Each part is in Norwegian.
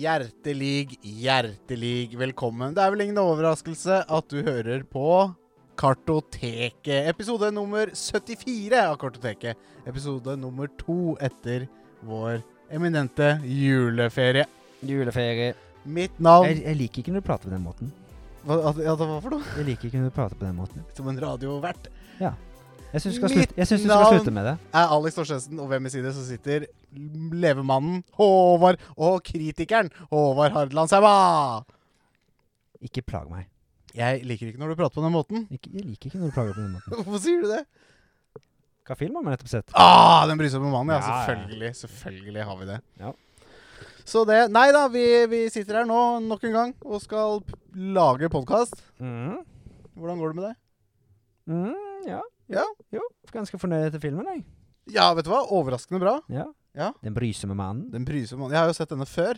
hjertelig velkommen. Det vel ingen overraskelse at du hører på Kartoteket. Episode nummer 74 av Kartoteket. Episode nummer 2 etter vår eminente juleferie. Mitt navn... Jeg liker ikke når du prater på den måten. Hva for noe? Jeg liker ikke når du prater på den måten. Som en radiovert. Ja. Jeg synes du skal slutte med det. Er Alex Torstensen, og ved min side så sitter levemannen Håvard og kritikeren Håvard Hardlandsheiма. Ikke plag meg. Jeg liker ikke når du prater på den måten. Jeg liker ikke når du plager på den måten. Hvorfor sier du det? Hva film har vi nettopp sett? Den brysomme mannen, ja. Selvfølgelig har vi det. Ja. Så det, nei da, vi sitter her nå nok en gang og skal lage podcast. Hvordan går det med deg? Ja. Ja? Jo, ganske fornøyd til filmen, jeg. Ja, vet du hva? Overraskende bra. Ja. Den brysomme mannen. Jeg har jo sett denne før.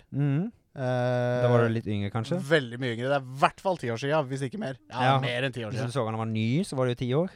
Da var du litt yngre, kanskje? Veldig mye yngre. Det er i hvert fall 10 år siden, hvis ikke mer. Ja, mer enn 10 år siden. Hvis du så han var ny, så var det jo 10 år.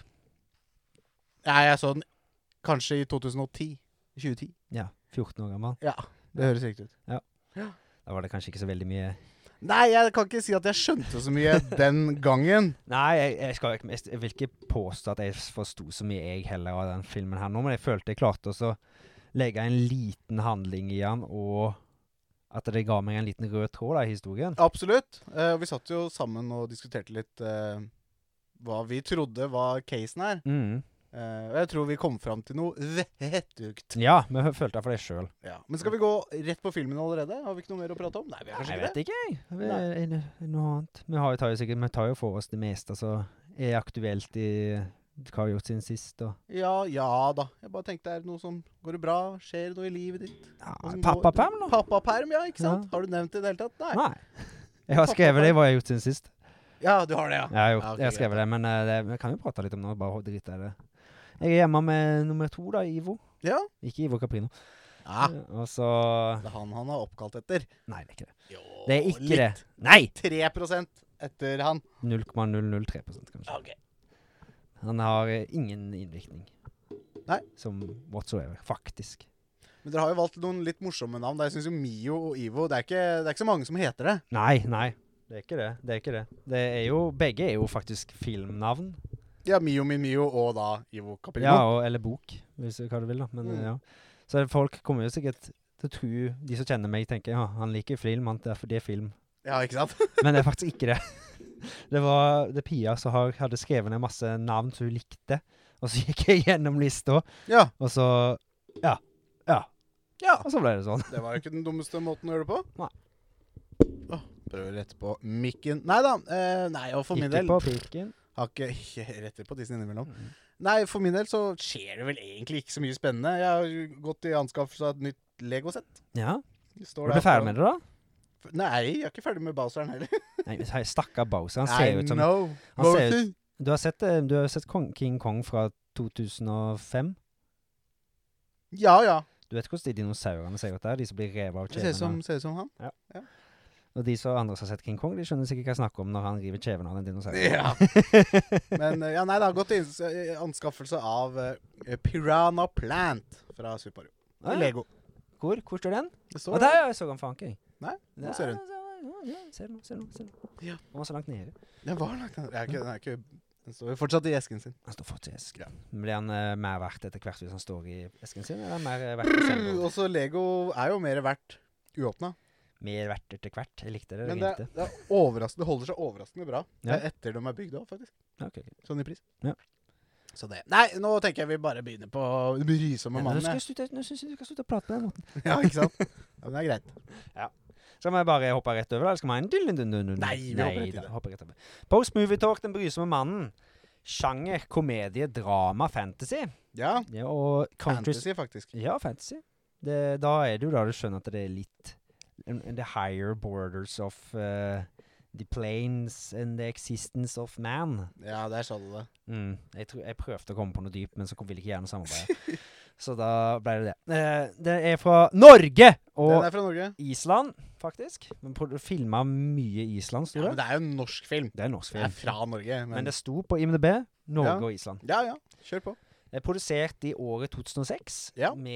Ja, jeg så den kanskje i 2010. 2010. Ja, 14 år gammel. Ja, det høres riktig ut. Ja. Da var det kanskje ikke så veldig mye... Nei, jeg kan ikke si at jeg skjønte så mye den gangen. Nei, jeg vil ikke påstå at jeg forstod så mye jeg heller av den filmen her nå, men jeg følte jeg klarte også å legge en liten handling i den, og at det ga meg en liten rød tråd i historien. Absolutt. Vi satt jo sammen og diskuterte litt hva vi trodde var casen her. Og jeg tror vi kom frem til noe vettugt. Ja, vi følte det for det selv. Ja. Men skal vi gå rett på filmen allerede? Har vi ikke noe mer å prate om? Nei, vi har kanskje ikke det. Jeg vet ikke. Noe annet. Vi tar jo for oss det meste, så er aktuelt i hva har vi gjort siden sist. Og... Ja da. Jeg bare tenkte, er det noe som går bra? Skjer det noe i livet ditt? Ja, pappaperm nå? Pappaperm, ja, ikke sant? Ja. Har du nevnt det i det hele tatt? Nei. Jeg har skrevet det, hva jeg har gjort siden sist. Ja, du har det, ja. Jeg har skrevet det, men vi kan jo prate litt om noe, bare drite i det. Jeg er hjemme med nummer 2 da, Ivo. Ja. Ikke Ivo Caprino. Ja. Og så... Det er han har oppkalt etter. Nei, det er ikke det. Jo, det er ikke litt. det. Nei! 3% etter han. 0,003% kanskje. Ok. Han har ingen innvirkning. Nei. Som whatsoever, faktisk. Men dere har jo valgt noen litt morsomme navn. Jeg synes jo Mio og Ivo, det er ikke så mange som heter det. Nei. Det er ikke det. Det er jo, begge er jo faktisk filmnavn. Ja, Mio min Mio og da Ivo Caprino. Ja, eller bok, hvis du hva du vil da. Men ja. Så folk kommer jo sikkert til å tro, de som kjenner meg tenker, ja, han liker film, det er film. Ja, ikke sant? Men det er faktisk ikke det. Det var Pia som hadde skrevet ned masse navn som hun likte, og så gikk jeg gjennom lista, og så, ja, og så ble det sånn. Det var jo ikke den dummeste måten å gjøre det på. Nei. Prøver å rette på mikken. Neida, og for min del... Ikke på pikken. Har ikke retter på tissen innimellom. Nei, for min del så skjer det vel egentlig ikke så mye spennende. Jeg har gått i anskaffelse av et nytt Lego-sett. Ja? Er du ferdig med det da? Nei, jeg er ikke ferdig med Bowseren heller. Nei, stakkar Bowser, han ser ut som... Du har sett King Kong fra 2005? Ja. Du vet hvordan de dinosaurene ser ut der? De som blir revet av kjevene. Ser ut som han. Ja. Og de som andre som har sett King Kong, de skjønner sikkert hva jeg snakker om når han river kjeven av den dinosauren. Ja. Men det har gått i anskaffelse av Piranha Plant fra Super Mario. Lego. Hvor står den? Det står der, jeg så den faen ikke. Nei, nå ser den. Ja, ser den. Ja. Den var så langt nede. Den var langt nede. Den står jo fortsatt i esken sin. Den står fortsatt i esken. Ja. Blir han mer verdt etter hvert hvis han står i esken sin, eller mer verdt selv? Og så Lego er jo mer verdt uåpnet. Mer verdt etter hvert. Jeg likte det. Men det er overraskende. Det holder seg overraskende bra. Ja. Etter de er bygd av, faktisk. Ja, okay. Sånn i pris. Ja. Så det. Nei, nå tenker jeg vi bare begynner på brysomme mannen. Nå synes jeg du kan slutte å prate på den måten. Ja, ikke sant? Ja, men det er greit. Ja. Skal vi bare hoppe rett over, eller skal vi ha en Nei, vi hopper rett over. Post-movie talk, den brysomme mannen. Sjanger, komedie, drama, fantasy. Ja, og fantasy faktisk. Ja, fantasy. Da er det jo da du skjønner at det er litt the higher borders of the planes and the existence of man. Ja, der sa du det. Jeg prøvde å komme på noe dypt, men så ville ikke gjerne samarbeide. Så da ble det. Det er fra Norge! Og den er fra Norge. Island, faktisk. Men filmet mye Island, stod det. Ja, men det er jo en norsk film. Det er en norsk film. Det er fra Norge. Men det sto på IMDb, Norge og Island. Ja, kjør på. Det er produsert i året 2006 med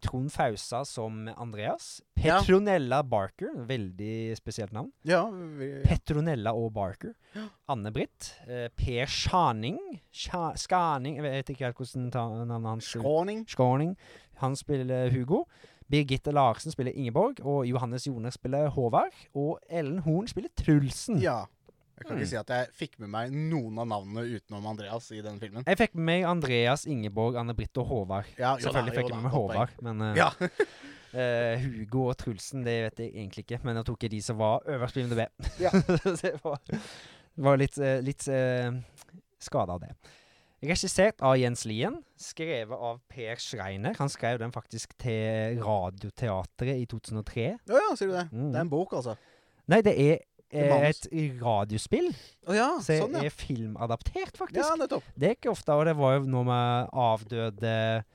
Trond Fausa som Andreas. Ja. Petronella Barker, veldig spesielt navn. Ja, Petronella og Barker. Anne-Britt. Per Schaning. Skaning, jeg vet ikke helt hvordan navnet hans. Skåning. Han spiller Hugo. Birgitte Larsen spiller Ingeborg, og Johannes Joner spiller Håvard, og Ellen Horn spiller Trulsen. Ja. Jeg kan ikke si at jeg fikk med meg noen av navnene utenom Andreas i den filmen. Jeg fikk med meg Andreas, Ingeborg, Anne-Britt og Håvard. Ja, Selvfølgelig fikk jeg med meg Håvard, men ja. Hugo og Trulsen, det vet jeg egentlig ikke, men jeg tok de som var øverst på IMDb. Ja. Det var litt skadet av det. Regissert av Jens Lien, skrevet av Per Schreiner. Han skrev den faktisk til Radioteatret i 2003. Ja, sier du det? Det en bok, altså? Nei, det et radiospill. Ja, så sånn, ja. Er filmadaptert, faktisk. Ja, nettopp. Det ikke ofte, og det var jo noe med avdøde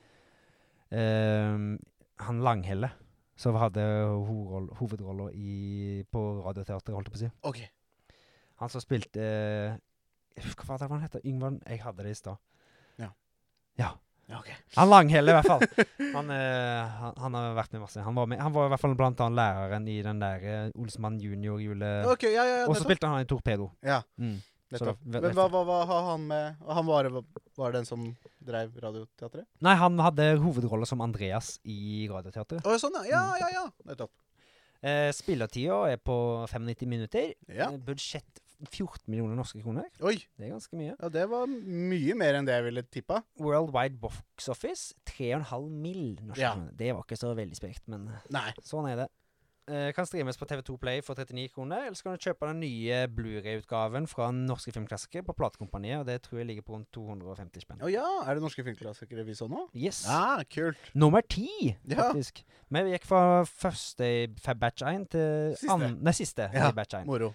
han Langhelle, som hadde hovedroller på Radioteatret, holdt jeg på å si. Ok. Han som spilte jeg husker hva det var han heter. Yngvar, jeg hadde det i sted. Ja, ok. Han Langhelle i hvert fall. Han har vært med masse. Han var i hvert fall blant annet læreren i den der Olsmann Junior jule. Ok, ja, og så spilte han i Torpedo. Ja, nettopp. Men hva har han med? Han var den som drev Radioteatret? Nei, han hadde hovedroller som Andreas i Radioteatret. Sånn, ja, nettopp. Spillertida på 95 minutter. Ja. Budsjett 14 millioner norske kroner. Oi! Det ganske mye. Ja, det var mye mer enn det jeg ville tippa. Worldwide Box Office, 3,5 mill. norske kroner. Det var ikke så veldig sprekt, men sånn det. Kan streames på TV2 Play for 39 kroner, eller så kan du kjøpe den nye Blu-ray-utgaven fra Norske Filmklassikere på Platekompaniet, og det tror jeg ligger på rundt 250 spenn. Ja, er det Norske Filmklassikere vi så nå? Yes. Kult. Nummer 10, faktisk. Men vi gikk fra første batch 1 til siste batch 1. Moro.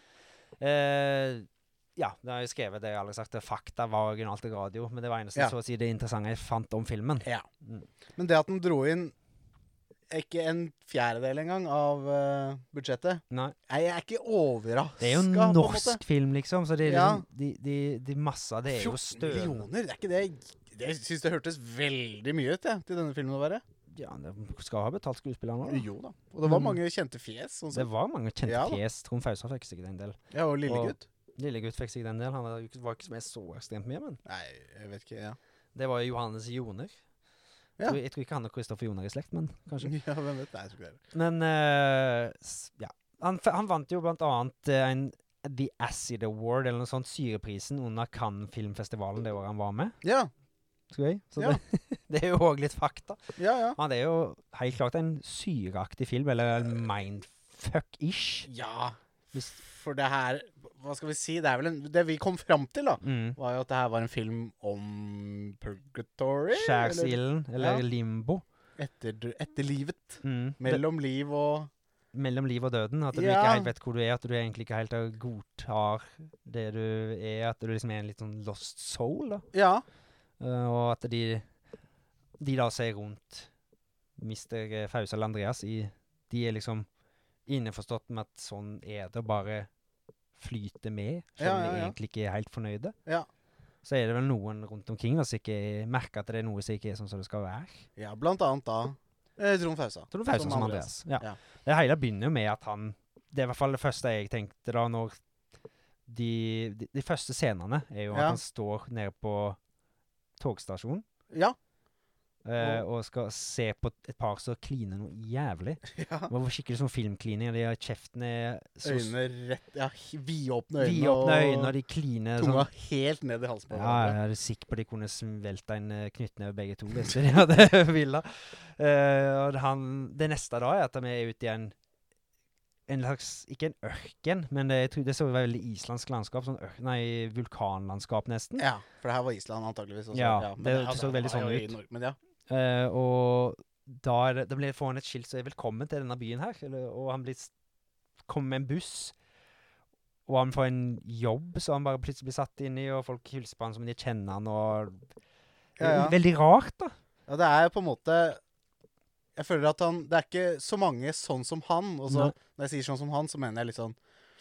Ja, det har jeg skrevet, det jeg aldri sagt. Fakta var originalt i radio, men det var eneste så å si det interessante jeg fant om filmen. Ja. Men det at den dro inn ikke en fjerdedel engang av budsjettet. Nei. Jeg er ikke overrasket. Det er jo norsk film, liksom, så det er liksom, de massa, det er jo 14 millioner, det er ikke det. Jeg synes det hørtes veldig mye ut, til denne filmen å være. Ja, det skal ha betalt skuespillerne da. Jo da. Og det var mange kjente fjes. Sånn det var mange kjente fjes. Trond Fausa fikk sikkert en del. Ja, og Lillegutt. Lillegutt fikk sikkert en del. Han var ikke med så ekstremt mye, men... Nei, jeg vet ikke, Det var Johannes Joner. Jeg tror ikke han og Kristoffer Joner i slekt, men kanskje. Ja, hvem vet? Nei, jeg tror ikke det. Men, han vant jo blant annet The Acid Award, eller noe sånt, syreprisen under Cannes Filmfestivalen det året han var med. Ja. Så det er jo også litt fakta. Ja. Men det er jo helt klart en syreaktig film, eller mindfuck-ish. Ja, for det her, hva skal vi si, det er vel det vi kom frem til da, var jo at det her var en film om purgatory. Skjærsilden, eller limbo. Etter livet. Mellom liv og døden, at du ikke helt vet hvor du at du egentlig ikke helt godtar det du at du liksom en litt sånn lost soul da. Ja. Og at de da ser rundt Mr. Fausa eller Andreas de liksom innforstått med at sånn det bare flyter med, selv om de egentlig ikke helt fornøyde. Ja. Så det vel noen rundt omkring som ikke merker at det noe som ikke sånn som det skal være. Ja, blant annet da Trond Fausa. Trond Fausa som Andreas. Ja. Det hele begynner jo med at det er i hvert fall det første jeg tenkte da, når de første scenene er jo at han står nede på togstasjonen. Ja. Og skal se på et par som kliner noe jævlig. Ja. Det var skikkelig sånn filmklining. De har kjeftene øynene rett, vidåpne øyne. Vidåpne øyne, og de kliner tunga sånn, helt ned i halsen på hverandre. Ja, jeg er sikker på at de kunne svelta en knyttneve begge to, hvis de hadde villet. Og det neste da at de er ute i en slags, ikke en ørken, men det så veldig islandsk landskap, sånn vulkanlandskap nesten. Ja, for det her var Island antageligvis også. Ja, det så veldig sånn ut. Men og da ble det foran et skilt så velkommen til denne byen her, og han kommer med en buss, og han får en jobb, så han bare plutselig blir satt inn i, og folk hilser på han som de kjenner han, og veldig rart da. Ja, det er på en måte... Jeg føler at det ikke så mange sånn som han, og så, når jeg sier sånn som han, så mener jeg litt sånn,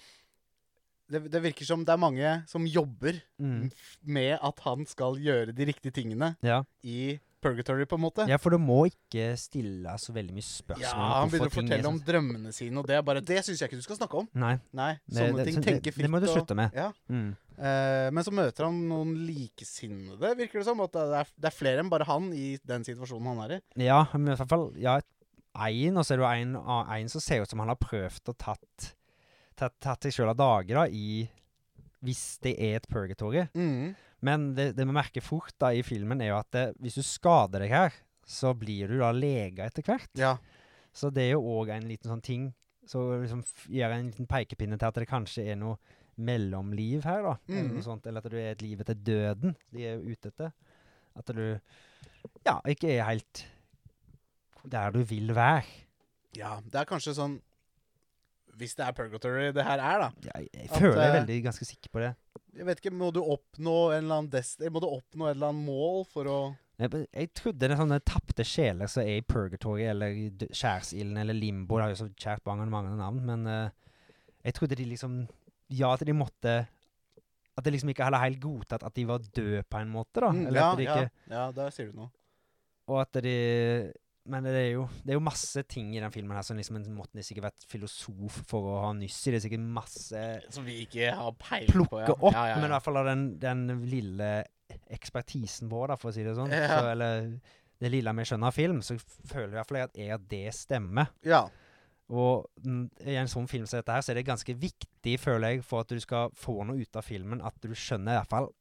det virker som det mange som jobber med at han skal gjøre de riktige tingene i purgatory, på en måte. Ja, for du må ikke stille så veldig mye spørsmål. Ja, han begynner å fortelle om drømmene sine, og det synes jeg ikke du skal snakke om. Nei. Sånne ting, tenke fritt. Det må du slutte med. Ja. Men så møter han noen likesinnede, virker det som. At det er flere enn bare han i den situasjonen han er i. Ja, men i hvert fall, ja, og så er det jo en som ser ut som han har prøvd å tatt seg selv av dager da, hvis det er et purgatory. Men det vi merker fort da i filmen er jo at hvis du skader deg her, så blir du da lega etter hvert. Ja. Så det er jo også en liten sånn ting, så liksom gjør en liten pekepinne til at det kanskje er noe mellomliv her da, eller noe sånt, eller at du er et liv etter døden, de er jo ute etter. At du, ja, ikke er helt der du vil være. Ja, det er kanskje sånn, hvis det er purgatory det her er da. Ja, jeg føler jeg er veldig ganske sikker på det. Jeg vet ikke, må du oppnå en eller annen må du oppnå et eller annet mål for å... Jeg trodde det er sånne tappte sjeler som er i purgatory, eller skjærsilden, eller limbo, det har jo så kjært mange navn, men jeg trodde de liksom, ja, at de måtte, at det liksom ikke heller helt godtatt at de var døde på en måte da. Eller Ja, at de ikke, ja, der sier du noe. og at de... Men det er jo masse ting i den filmen her som liksom måtte sikkert vært filosof for å ha nyss i. Det er sikkert masse som vi ikke har peiling på. Plukke opp, men i hvert fall av den lille ekspertisen vår, da, for å si det sånn. Så, eller det lille vi skjønner av film, så føler jeg i hvert fall at det stemmer. Ja. Og i en sånn film som dette her, så er det ganske viktig, føler jeg, for at du skal få noe ut av filmen, at du skjønner i hvert fall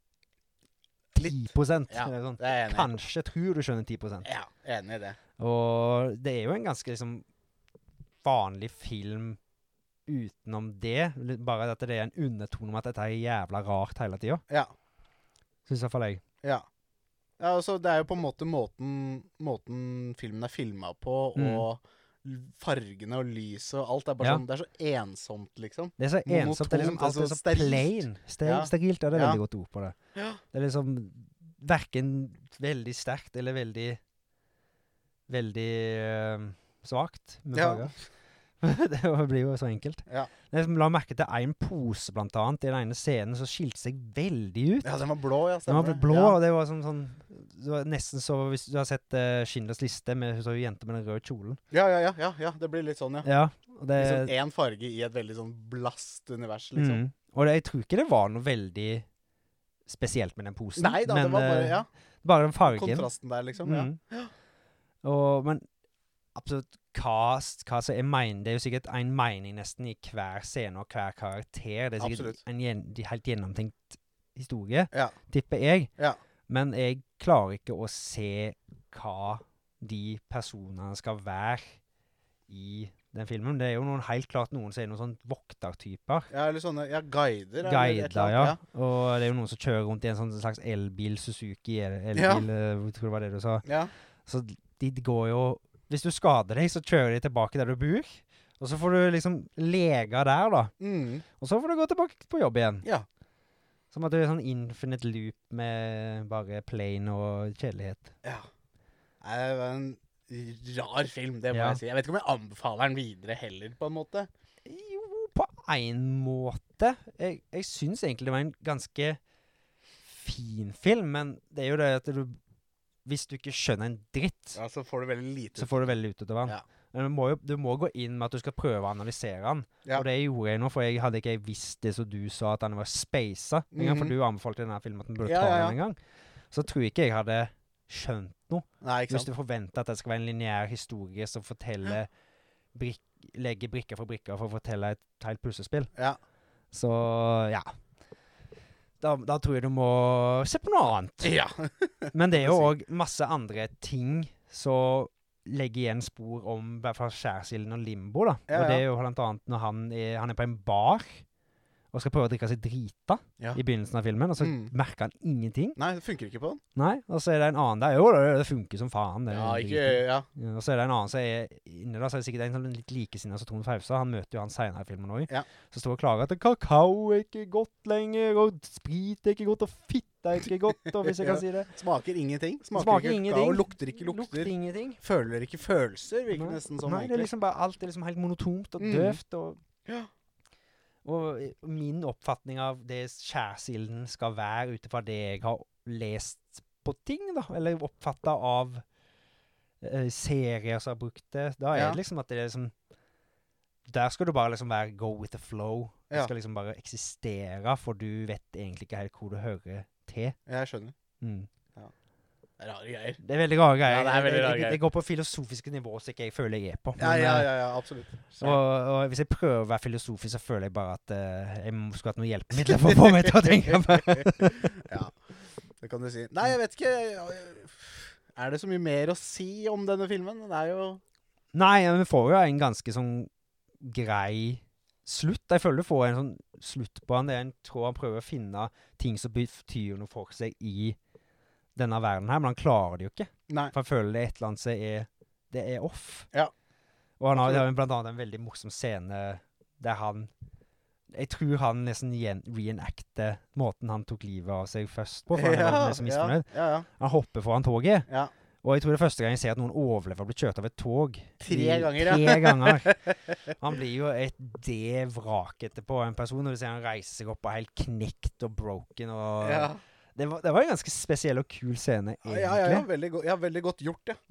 10%. Ja, sånn. Det er enig. Kanskje tror du skjønner 10%. Ja, enig i det. Og det er jo en ganske liksom vanlig film utenom det, bare at det er en undertone om at dette er jævla rart hele tiden. Ja. Synes i hvert fall jeg. Ja. Ja, altså det er jo på en måte måten filmen er filmet på, og fargene og lyset og alt er bare sånn, det er så ensomt liksom. Det er så ensomt, det er liksom alt er så plain. Sterilt, det er veldig godt ord på det. Ja. Det er liksom hverken veldig sterkt eller veldig svagt med farger. Det blir jo så enkelt. Ja. Jeg la merke til en pose blant annet i den ene scenen som skilte seg veldig ut. Ja, den var blå, ja. Den var blå, og det var sånn det var nesten så, hvis du har sett Schindlers liste med så jente med den røde kjolen. Ja, det blir litt sånn, ja. Og det liksom en farge i et veldig sånn blast univers, liksom. Og jeg tror ikke det var noe veldig spesielt med den posen. Nei da, men, det var bare, bare den fargen. Kontrasten der, liksom, ja. Men absolutt hva som er det er jo sikkert en mening nesten i hver scene og hver karakter. Det er sikkert en helt gjennomtenkt historie, tipper jeg. Ja. Men jeg klarer ikke å se hva de personene skal være i den filmen. Det er jo helt klart noen som er noen sånn voktertyper. Ja, eller sånne, guider. Guider, ja. Og det er jo noen som kjører rundt i en sånn slags elbil, Suzuki, elbil, jeg tror det var det du sa. Ja. Så de går jo, hvis du skader deg, så kjører de tilbake der du bor, og så får du liksom lega der da. Og så får du gå tilbake på jobb igjen. Ja. Som at det er sånn infinite loop med bare plain og kjedelighet. Ja. Det var en rar film, det må jeg si. Jeg vet ikke om jeg anbefaler den videre heller, på en måte. Jo, på en måte. Jeg synes egentlig det var en ganske fin film, men det er jo det at hvis du ikke skjønner en dritt, så får du veldig lite. Så får du veldig ut av den. Ja. Men du må gå inn med at du skal prøve å analysere den. Ja. Og det gjorde jeg nå, for jeg hadde ikke visst det som du sa, at den var spacet. For du anbefalte denne filmen at den burde ta den en gang. Så tror jeg ikke jeg hadde skjønt noe. Nei, ikke sant? Hvis du forventer at det skal være en lineær historie som forteller, legger brikker for brikker for å fortelle et helt puslespill. Ja. Så, ja. Da tror jeg du må se på noe annet. Ja. Men det er jo også masse andre ting som legger igjen spor om i hvert fall skjærsilden og limbo da. Og det er jo blant annet når han er på en bar og skal prøve å drikke seg drita i begynnelsen av filmen, og så merker han ingenting. Nei, det funker ikke på den. Nei, og så er det en annen der, jo, det funker som faen. Og så er det en annen som er inne da, så er det sikkert en sånn litt likesinnet som Trond Fausa, han møter jo han senere i filmen også. Ja. Så står og klager at kakao er ikke godt lenger, og sprit er ikke godt, og fitt er ikke godt, og hvis jeg kan si det. Smaker ingenting. Smaker ikke kakao, lukter ikke lukter. Lukter ingenting. Føler ikke følelser, virker nesten sånn. Nei, det er liksom bare, alt er liksom helt monotont og døvt, og min oppfatning av det skjærsilden skal være utifra det jeg har lest på ting, da. Eller oppfattet av serier som har brukt det. Da Ja. det liksom at det liksom der skal du bare liksom være go with the flow. Du Ja. skal liksom bare eksistere, for du vet egentlig ikke helt hvor du hører til. Jeg skjønner. Mm. Rare greier. Det veldig rare greier. Ja, det veldig rare jeg greier. går på filosofiske nivå som ikke jeg føler jeg på. Ja, absolutt. Og hvis jeg prøver å være filosofisk, så føler jeg bare at jeg skulle hatt noen hjelpemidler for å få meg til å tenke på. Ja, det kan du si. Nei, jeg vet ikke. Er det så mye mer å si om denne filmen? Det jo... Nei, vi får jo en ganske sånn grei slutt. Jeg føler du får en sånn slutt på han. Jeg tror han prøver å finne ting som betyr noe for seg i denne verden her, men han klarer det jo ikke. Nei. For jeg føler det et eller annet som det off. Ja. Og han har blant annet en veldig morsom scene der jeg tror han nesten reenacter måten han tok livet av seg først på, for han var så misfornøyd. Ja. Han hopper foran toget. Ja. Og jeg tror det er første gang jeg ser at noen overlever å bli kjørt av et tog. 3 ganger, ja. 3 ganger. Han blir jo et vrak etterpå, en person, når du ser han reiser seg opp og er helt knekt og broken. Og Ja. det var en ganske spesiell og kul scene, egentlig. Ja, veldig godt gjort, ja.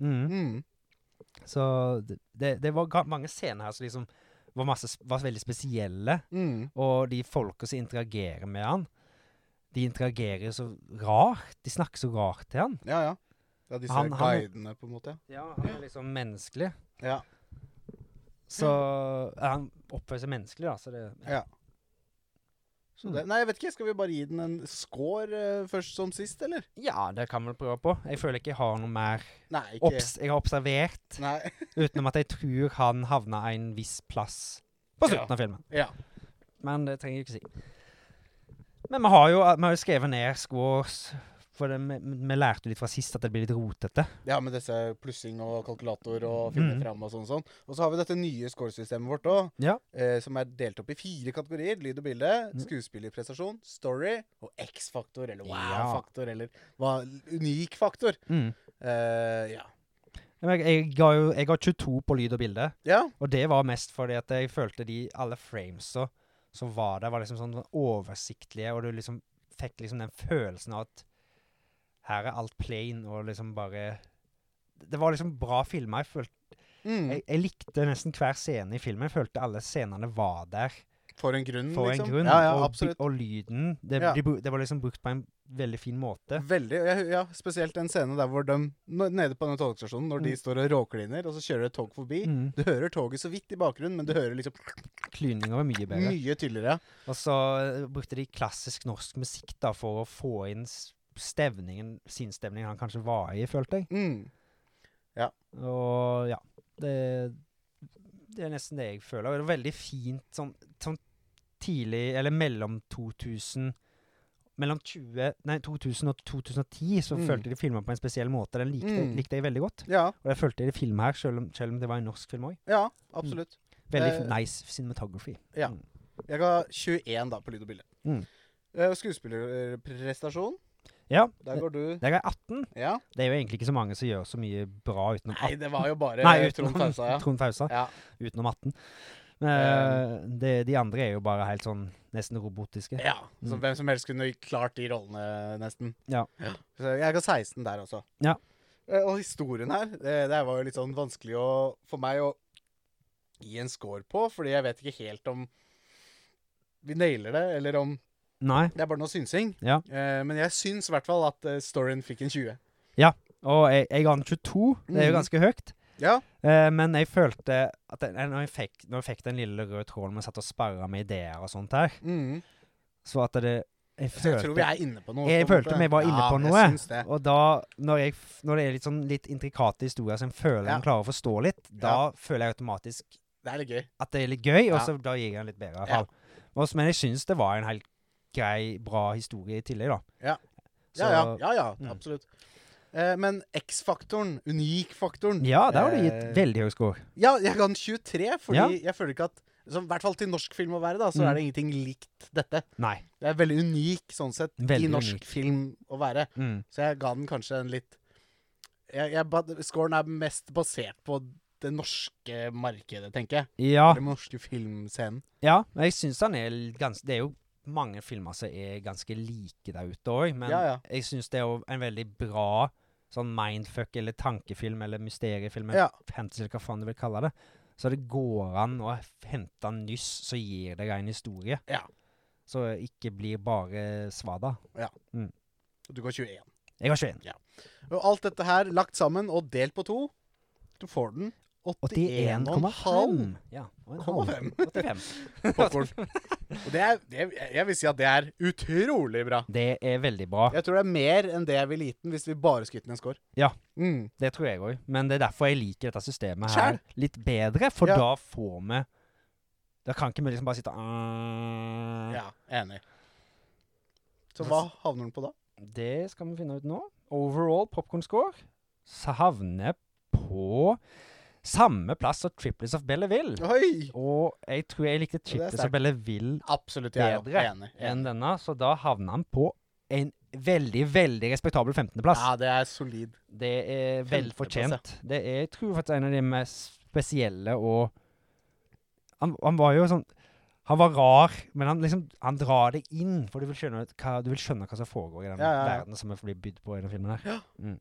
Så det var mange scener her som liksom var veldig spesielle. Og de folka som interagerer med han, de interagerer så rart. De snakker så rart til han. Ja, disse guidene på en måte. Ja, han er liksom menneskelig. Ja. Så han oppfører seg menneskelig, da. Så det, Ja. Så nei, jeg vet ikke. Skal vi bare gi den en score først som sist, eller? Ja, det kan vi prøve på. Jeg føler ikke jeg har noe mer Nei, ikke. jeg har observert, Nei. utenom at jeg tror han havna en viss plass på slutten av filmen. Ja. Men det trenger jeg ikke si. Men vi har jo skrevet ned scores, for vi lærte litt fra sist at det blir litt rotete. Ja, med disse plussing og kalkulator og finne fram og sånn. Og så har vi dette nye scoresystemet vårt også, Ja. som delt opp i 4 kategorier. Lyd og bilde, skuespillerprestasjon, story og X-faktor, eller wow-faktor, eller unik faktor. Ja. Jeg ga 22 på lyd og bilde, Ja. og det var mest fordi at jeg følte alle framesa som var der, var liksom sånn oversiktlige, og du liksom fikk liksom den følelsen av at her alt plain, og liksom bare det var liksom bra filmer. Jeg likte nesten hver scene i filmen. Jeg følte alle scenene var der For en grunn, for liksom. en grunn. Ja, og, absolutt. og lyden, det var liksom brukt på en veldig fin måte. Veldig, ja, spesielt en scene der hvor de, nede på den togstasjonen, når de står og råkliner, og så kjører et tog forbi. Du hører toget så vidt i bakgrunnen, men du hører liksom Klyninga var mye bedre. Mye tydeligere. Og så brukte de klassisk norsk musikk da, for å få inn sinnsstemningen han kanskje var i, følte jeg. Ja. Og ja, det er nesten det jeg føler. Og det var veldig fint sånn tidlig, eller mellom 2000 og 2010 så følte de filmen på en spesiell måte. Den likte jeg veldig godt. Ja. Og jeg følte det i film her, selv om det var en norsk film også. Ja, absolutt. Veldig nice cinematography. Ja. Jeg ga 21 da på lyd og bilde. Skuespillerprestasjon. Ja. Der går du. Der er 18. Ja. Det er jo egentlig ikke så mange som gjør så mye bra utenom 18. Nei, det var jo bare utenom, Trond Fausa, ja. Trond Fausa. Ja. Utenom 18. De andre er jo bare helt sånn nesten robotiske. Ja, så hvem som helst kunne klart de rollene nesten. Ja. Så jeg ga 16 der også. Ja. Og historien her, det var jo litt sånn vanskelig for meg å gi en score på, fordi jeg vet ikke helt om vi nailer det, eller om Nei. det er bare noe synsing. Ja. Men jeg syns i hvert fall at storyen fikk en 20. Ja, og jeg ga den 22. Det er jo ganske høyt. Ja. Men jeg følte at når jeg fikk den lille røde tråden med satt og sparret med ideer og sånt her, så at jeg tror vi er inne på noe. Jeg følte vi var inne på noe. Jeg syns det. Og da, når det er litt intrikate historier som jeg føler man klarer å forstå litt, da føler jeg automatisk det er litt gøy. At det er litt gøy, og så da gir jeg den litt bedre i hvert fall. Men jeg synes det var en helt grei, bra historie i tillegg da. Ja, absolutt. Men X-faktoren, unik-faktoren. Ja, der har du gitt veldig høy score. Ja, jeg ga den 23, fordi jeg føler ikke at, i hvert fall til norsk film å være da, så er det ingenting likt dette. Nei. Det er veldig unik, sånn sett, veldig i norsk unik film å være. Så jeg ga den kanskje en litt... Scoren er mest basert på det norske markedet, tenker jeg. Ja. Den norske filmscenen. Ja, men jeg synes han det er jo mange filmer som ganske like der ute også, men Ja. jeg synes det jo en veldig bra sånn mindfuck, eller tankefilm, eller mysteriefilm, Ja. fantasy, eller hva faen du vil kalle det. Så det går an å hente en nyss, så gir det en historie. Ja. Så ikke blir bare svada. Du går 21. Jeg har 21. Og alt dette her lagt sammen og delt på 2, du får den 81,5. Ja, og en 85. 85. popcorn. Og jeg vil si at det er utrolig bra. Det veldig bra. Jeg tror det er mer enn det jeg vil gitt den hvis vi bare skulle gitt den en score. Ja. Mm. Det tror jeg også. Men det derfor jeg liker dette systemet her Skjær. litt bedre, for Ja. da får vi... Da kan ikke vi liksom bare sitte... Ja, enig. Så hva havner den på da? Det skal vi finne ut nå. Overall popcorn score så havner på samme plass som Triplets of Belleville. Oi! Og jeg tror jeg likte er Triplets sterkt. of Belleville Absolutt, jeg er jo bedre enig. enn denne, så da havner han på en veldig, veldig respektabel 15. plass. Ja, det er solid. Det er vel 15. fortjent. Det er, jeg tror faktisk en av de mest spesielle, og han var jo sånn, han var rar, men han drar det inn, for du vil skjønne hva som foregår i den Ja. verden som blir bydd på i den filmen her.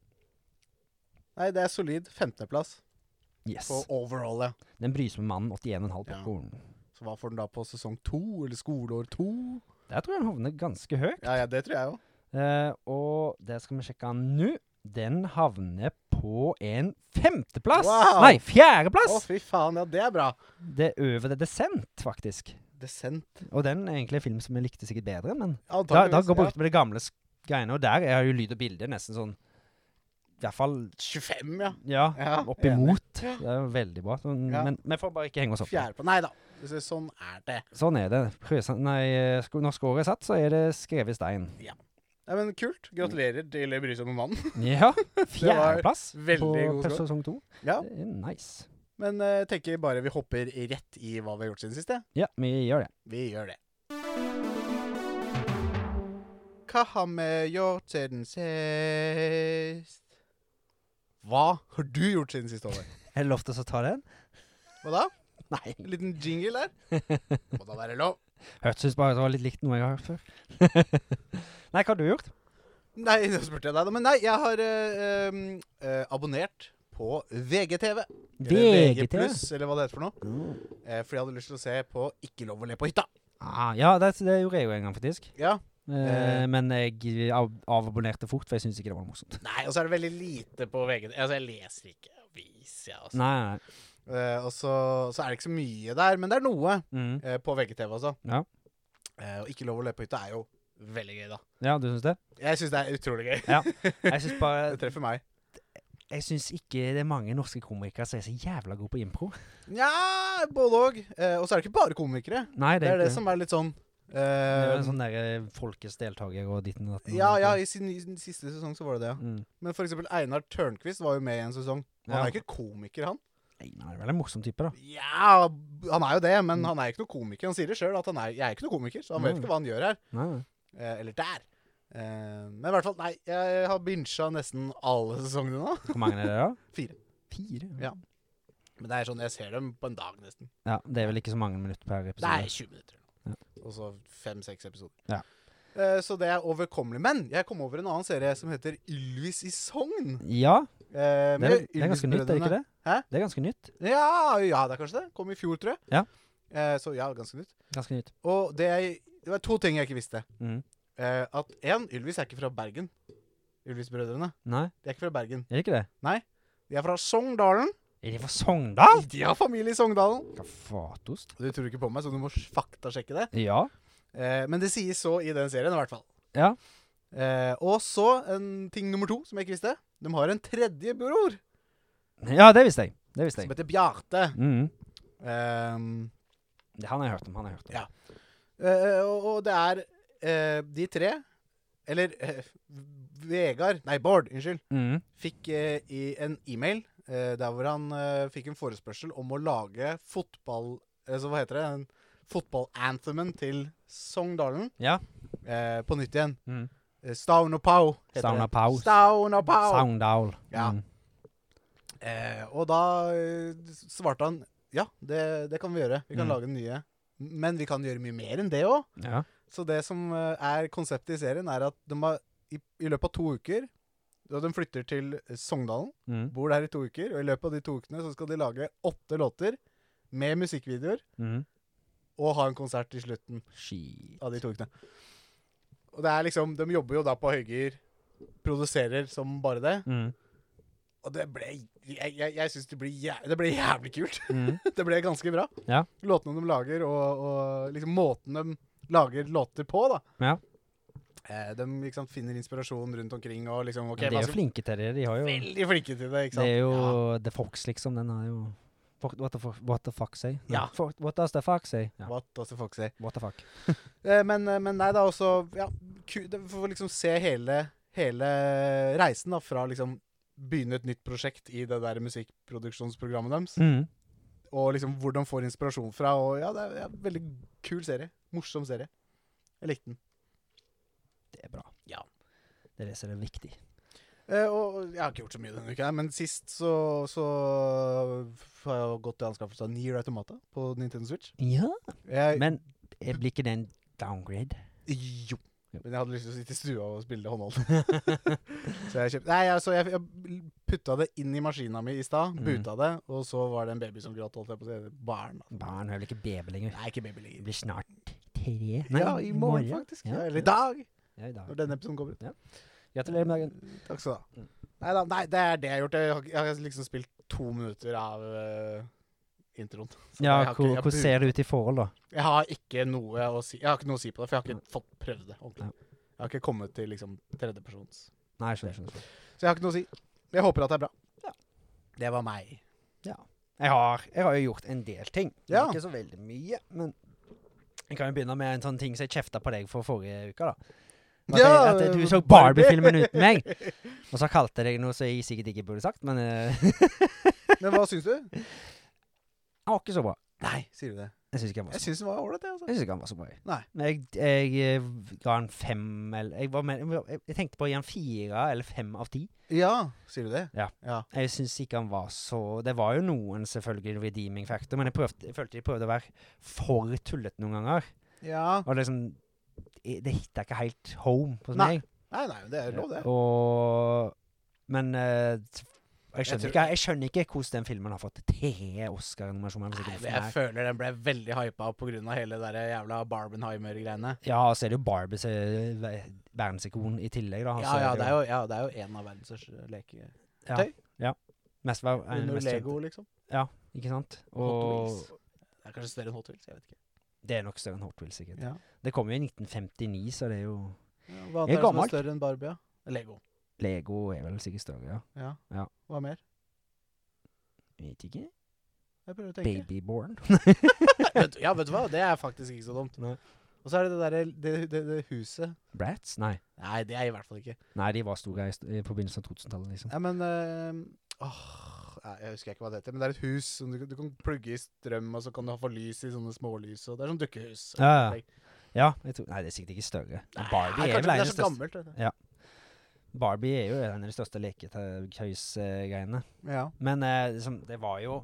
Nei, det er solid. 15. plass Yes. på overall, ja. Den brysomme mannen, 81,5 Ja. popcorn. Så hva får den da på sesong 2, eller skoleår 2? Der tror jeg han havner ganske høyt. Ja, det tror jeg jo. Og det skal vi sjekke nå. Den havner på en 5. plass. Wow! Nei, 4. Å, plass. fy faen, ja, det er bra. Det over The Descent, faktisk. Descent. Og den er egentlig en film som jeg likte sikkert bedre, men da Antakeligvis, går brukt med det gamle greiene, og der er jo lyd og bilde nesten sånn, i hvert fall, 25, ja. ja, Ja, oppimot. enig. Det er jo veldig bra. Sånn, Ja. Men vi får bare ikke henge oss opp. Fjerde på. Nei da. Sånn er det. Sånn er det. Når scoret er satt, så er det skrevet i stein. Nei, men kult. Gratulerer til Brysomme mannen. Ja, 4. plass veldig god på score. sesong 2. Ja, Det er nice. men jeg tenker bare vi hopper rett i hva vi har gjort siden siste. Ja, vi gjør det. Vi gjør det. Hva har vi gjort siden sist? Hva har du gjort siden sist, Håvard? Er det lov til å ta den? Hva da? Nei. En liten jingle der? Må da være lov. Hørtes bare det var litt likt noe jeg har hørt før. Nei, hva har du gjort? Nei, nå spurte jeg deg da. Men nei, jeg har abonnert på VGTV. Eller VG+, eller hva det heter for noe. Fordi jeg hadde lyst til å se på Ikke lov å le på hytta. Ja, det gjorde jeg jo en gang faktisk. Ja. Men jeg avabonnerte fort, for jeg synes ikke det var noe morsomt. Nei, og så er det veldig lite på VGTV. Altså, jeg leser ikke avis, jeg, altså. Nei. Og så er det ikke så mye der, men det er noe på VGTV også. Ja. Og Ikke lov å le på hytta er jo veldig gøy, da. Ja, du synes det? Jeg synes det er utrolig gøy. Ja. Jeg synes bare... Det treffer meg. Jeg synes ikke det er mange norske komikere som er så jævla gode på impro. Ja, både og. Og så er det ikke bare komikere. Nei, Det er det som er litt sånn... det er en sånn der folkets deltaker og ditten og datten. Ja, i sin siste sesong så var det det, ja. Mm. Men for eksempel Einar Tørnquist var jo med i en sesong. Han Ja. er ikke komiker, han. Nei, han er vel en morsom type da. Ja, han er jo det, men han er ikke noe komiker. Han sier det selv at jeg er ikke noe komiker, så han vet Mm. ikke hva han gjør her. Nei. Eller der. Men i hvert fall, nei, jeg har binsja nesten alle sesongene nå. Hvor mange er det da? 4. 4? Ja. Men det er sånn, jeg ser dem på en dag nesten. Ja, det er vel ikke så mange minutter per episode. Det er 20 minutter. Ja. Og så 5-6 episoder. Ja. Så det er overkommelig. Men jeg kom over en annen serie som heter Ylvis i Sogn. Ja, Det det er ganske nytt, er det ikke det? Hæ? Det er ganske nytt. Ja, det er kanskje det. Kom i fjor, tror jeg. Ja. Så ja, ganske nytt. Ganske nytt. Og det var 2 ting jeg ikke visste. Mhm. At Ylvis er ikke fra Bergen. Ylvis-brødrene. Nei, De er ikke fra Bergen. er det ikke det? De er fra Sogndalen. Er de fra Sogndal? De har familie i Sogndalen. Hva fatost? Du tror ikke på meg, så du må faktasjekke det. Ja. Men det sies så i den serien, i hvert fall. Ja. Og så en ting nummer 2 som jeg ikke visste. De har en tredje bror Ja, det visste jeg. Det visste som jeg. heter Bjarte. Mhm. Det Han har jeg hørt om, Ja. Og det er de 3, eller Bård, unnskyld, Mhm. fikk i en e-mail der hvor han fikk en forespørsel om å lage fotball, så hva heter det, en fotballanthemen til Sogndalen Ja. på nytt igjen. Mhm. Stavn og Pau heter Stavn og det. Pau. Stavn og Pau. Sogndal. Ja. Mhm. Og da svarte han, ja, det kan vi gjøre. Vi kan Mm. lage den nye. Men vi kan gjøre mye mer enn det også. Ja. Så det som konseptet i serien at de har, i løpet av 2 uker, da de flytter til Sogndalen, bor der i 2 uker, og i løpet av de 2 ukene så skal de lage 8 låter med musikkvideoer, og ha en konsert i slutten av de 2 ukene. Og det liksom, de jobber jo da på høygir, produserer som bare det, og det ble, jeg synes det ble jævlig kult. Det ble ganske bra. Ja. Låtene de lager, og liksom måten de lager låter på, da. Ja. De liksom finner inspirasjon rundt omkring, og liksom, ok, de er jo flinke til det, de har jo... Veldig flinke til det, ikke sant? Det er jo The Fox, liksom, den har jo... What the fuck say? Ja. What does the fuck say? Ja. What does the fuck say? What the fuck? Men nei, da også, ja, for liksom se hele reisen da, fra liksom begynne et nytt prosjekt i det der musikkproduksjonsprogrammet deres. Og liksom hvor de får inspirasjon fra. Og ja, det er en veldig kul serie. Morsom serie. Jeg likte den. Det er bra. Ja. Det er det som er viktig. Og jeg har ikke gjort så mye denne uka, men sist så har jeg gått til anskaffelse av Nier Automata på Nintendo Switch. Ja, men blir ikke det en downgrade? Jo. Men jeg hadde lyst til å sitte i stua og spille det håndholdt. Så jeg kjøpte... Nei, altså, jeg puttet det inn i maskinen min i sted, buta det, og så var det en baby som gråt, holdt jeg på å si. Barn. Altså. Barn er vel ikke baby lenger? Nei, ikke baby lenger. Det blir snart 3. Nei, ja, i morgen faktisk. Ja. Eller i dag. Ja, i dag. Når denne episoden kommer ut. Ja. Gratulerer med dagen. Takk skal du ha. Nei, det er det jeg har gjort. Jeg har liksom spilt 2 minutter av... introen. Ja, hvordan ser det ut i forhold da? Jeg har ikke noe å si. Jeg har ikke noe å si på det, for jeg har ikke fått prøvd det ordentlig. Ja. Jeg har ikke kommet til liksom tredjepersons. Nei, skjønner. Så jeg har ikke noe å si. Jeg håper at det er bra. Ja. Det var meg. Ja. Jeg har jo gjort en del ting. Ja. Ikke så veldig mye, men jeg kan jo begynne med en sånn ting som jeg kjeftet på deg for forrige uke da. At du så Barbie-filmen uten meg. Og så kalte jeg deg noe som jeg sikkert ikke burde sagt, men... Men hva synes du? Han var ikke så bra. Nei, sier du det? Jeg synes ikke han var så bra. Jeg synes han var ordentlig, altså. Jeg synes ikke han var så bra. Nei. Men jeg ga han 5, eller... Jeg tenkte på å gi han 4 eller 5 av 10. Ja, sier du det? Ja. Ja. Jeg synes ikke han var så... Det var jo noen selvfølgelig redeeming factor, men jeg følte de prøvde å være for tullet noen ganger. Ja. Og liksom... Det hittet ikke helt home hos meg. Nei, det er lov det. Men... Jeg skjønner ikke hvordan den filmen har fått 3 Oscar-nominasjoner. Jeg føler den ble veldig hypet på grunn av hele der jævla Barbenheimer-greiene. Ja, så er det jo Barbie som er verdensikon i tillegg da. Ja, det er jo en av verdens største leketøy. Ja. Mest Lego, liksom. Ja, ikke sant? Hot Wheels. Det er kanskje større enn Hot Wheels, jeg vet ikke. Det er nok større enn Hot Wheels, sikkert. Ja. Det kom jo i 1959, så det er jo... Ja, hva er det som er større enn Barbie, ja? Lego. Lego er vel sikkert større, ja. Ja. Hva mer? Vet ikke. Jeg prøver å tenke. Babyborn. Vet du hva? Det er faktisk ikke så dumt. Nei. Og så er det det huset. Bratz? Nei. Nei, det er i hvert fall ikke. Nei, de var store i forbindelse av 2000-tallet, liksom. Ja, men... jeg husker ikke hva det heter, men det er et hus som du kan plugge i strøm, og så kan du få lys i sånne smålys, og det er sånn dukkehus. Ja, jeg tror... Nei, det er sikkert ikke større. Barbie er vel det er så gammelt. Ja. Barbie er jo en av de største leketøys-greiene. Ja. Men det var jo...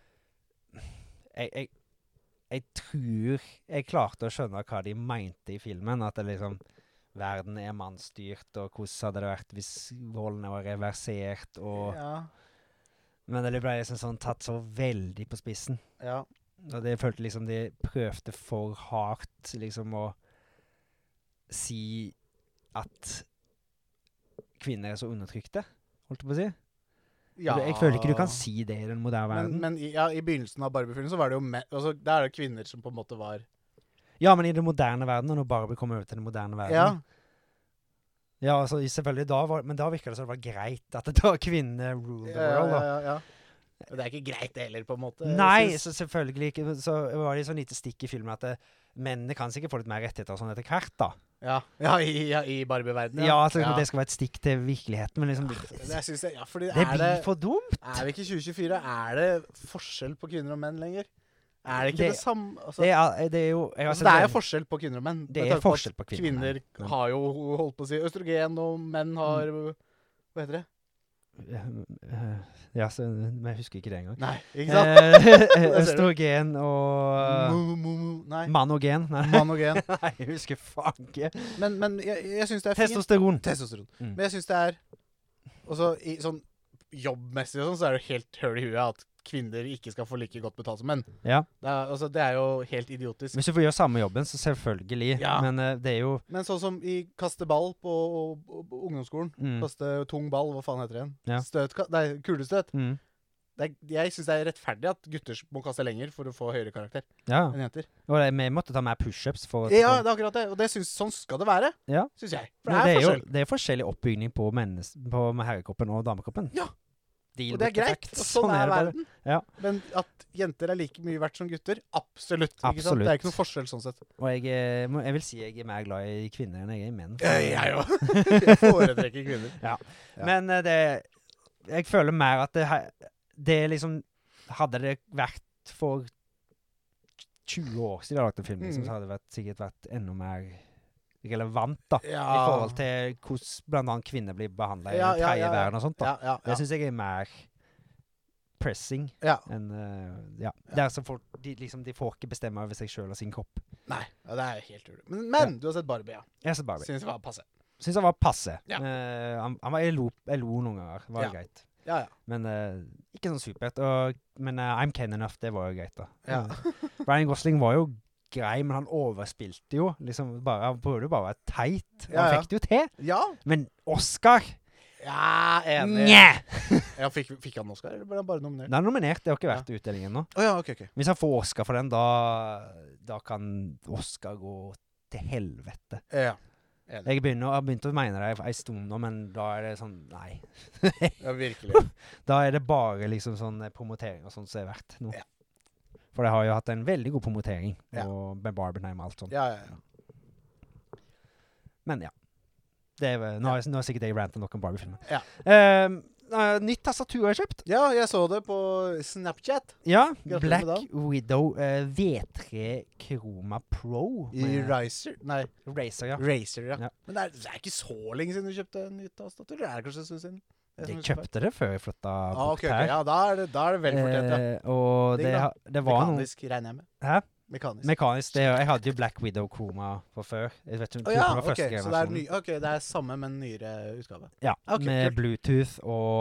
Jeg tror jeg klarte å skjønne hva de mente i filmen, at det liksom... Verden er mannstyrt, og hvordan hadde det vært hvis rollene var reversert, og... Ja. Men det ble liksom sånn tatt så veldig på spissen. Ja. Og det følte liksom de prøvde for hardt liksom å si at kvinner er så undertrykte, holdt jeg på å si. Ja. Jeg føler ikke du kan si det i den moderne verden. Men i begynnelsen av Barbie-filmen så var det jo altså, der er det kvinner som på en måte var... Ja, men i den moderne verden, og når Barbie kommer over til den moderne verden... Ja, altså selvfølgelig men da virker det som det var greit at det var kvinner rule the world, da. Ja. Men det er ikke greit det heller, på en måte. Nei, så selvfølgelig ikke. Så var det sånn lite stikk i filmen at mennene kan sikkert få litt mer rettigheter og sånn etter hvert, da. Ja, i Barbie-verdenen. Ja, altså, det skal være et stikk til virkeligheten, men liksom... Fordi det blir for dumt. Er vi ikke i 2024? Er det forskjell på kvinner og menn lenger? Er det ikke det samme? Altså, det er jo... det er jo forskjell på kvinner og menn. Det er forskjell på kvinner og menn. Kvinner har jo holdt på å si østrogen, og menn har... Hva heter det? Ja, så, men jeg husker ikke det engang. Nei, ikke sant? Østrogen og Nei. Manogen. Nei. Manogen. Nei, jeg husker faen ikke. Men jeg synes det er fint. Testosteron. Testosteron. Mm. Men jeg synes det er også i sånn jobbmessig og sånn, så er det helt høl i huet at kvinner ikke skal få like godt betalt som menn. Ja. Det er jo helt idiotisk. Hvis du får gjøre samme jobben, så selvfølgelig. Ja. Men det er jo... Men sånn som i kaste ball på ungdomsskolen, kaste tung ball, hva faen heter det igjen? Ja. Kulestøt. Jeg synes det er rettferdig at gutter må kaste lenger for å få høyere karakter enn jenter. Og vi måtte ta mer push-ups for... Ja, det er akkurat det. Og det sånn skal det være, synes jeg. For det er forskjell. Det er forskjellig oppbygning på herrekroppen og damekroppen. Ja. Og det er greit, og sånn er verden. Ja. Men at jenter er like mye verdt som gutter, absolutt. Ikke sant? Det er ikke noe forskjell sånn sett. Og jeg vil si jeg er mer glad i kvinner enn jeg er i menn. Jeg òg. Jeg foretrekker kvinner. Ja. Men jeg føler mer at det liksom, hadde det vært for 20 år siden jeg lagde en film, liksom, så hadde det sikkert vært enda mer relevant da, i forhold til hvordan blant annet kvinner blir behandlet i den tredje verden og sånt da. Det synes jeg er mer pressing enn, det er så folk, de får ikke bestemme over seg selv og sin kropp. Nei, det er helt ulig. Men du har sett Barbie, Jeg har sett Barbie. Synes det var passe. Synes det var passe. Jeg lo noen ganger, var det greit. Men ikke sånn supert. Men I'm Ken Enough, det var jo greit da. Ryan Gosling var jo grei, men han overspilte jo. Liksom han prøvde jo bare å være teit. Han fikk det jo til. Ja. Men Oscar... Ja, enig. Nja! Fikk han Oscar, eller ble han bare nominert? Han er nominert, det har ikke vært utdelingen nå. Ok. Hvis han får Oscar for den, da kan Oscar gå til helvete. Ja. Jeg har begynt å mene det en stund nå, men da er det sånn, nei. Ja, virkelig. Da er det bare liksom sånn promotering og sånt som er verdt nå. Ja. For det har jo hatt en veldig god promotering, og med Barbenheim og alt sånt. Ja. Men ja. Nå er sikkert jeg rantet nok om Barbie-filmen. Ja. Nytt tastatur har jeg kjøpt. Ja, jeg så det på Snapchat. Ja, Black Widow V3 Chroma Pro. I Razer? Nei. Razer, ja. Men det er ikke så lenge siden du kjøpte en nytt tastatur. Det er kanskje en stund siden. Jeg kjøpte det før jeg flyttet bort her. Ja, da er det vel fortjent, ja. Og det var mekanisk, regner jeg med. Hæ? Mekanisk. Jeg hadde jo Black Widow Chroma fra før. Jeg vet ikke, så det er samme, men nyere utgave. Ja, med Bluetooth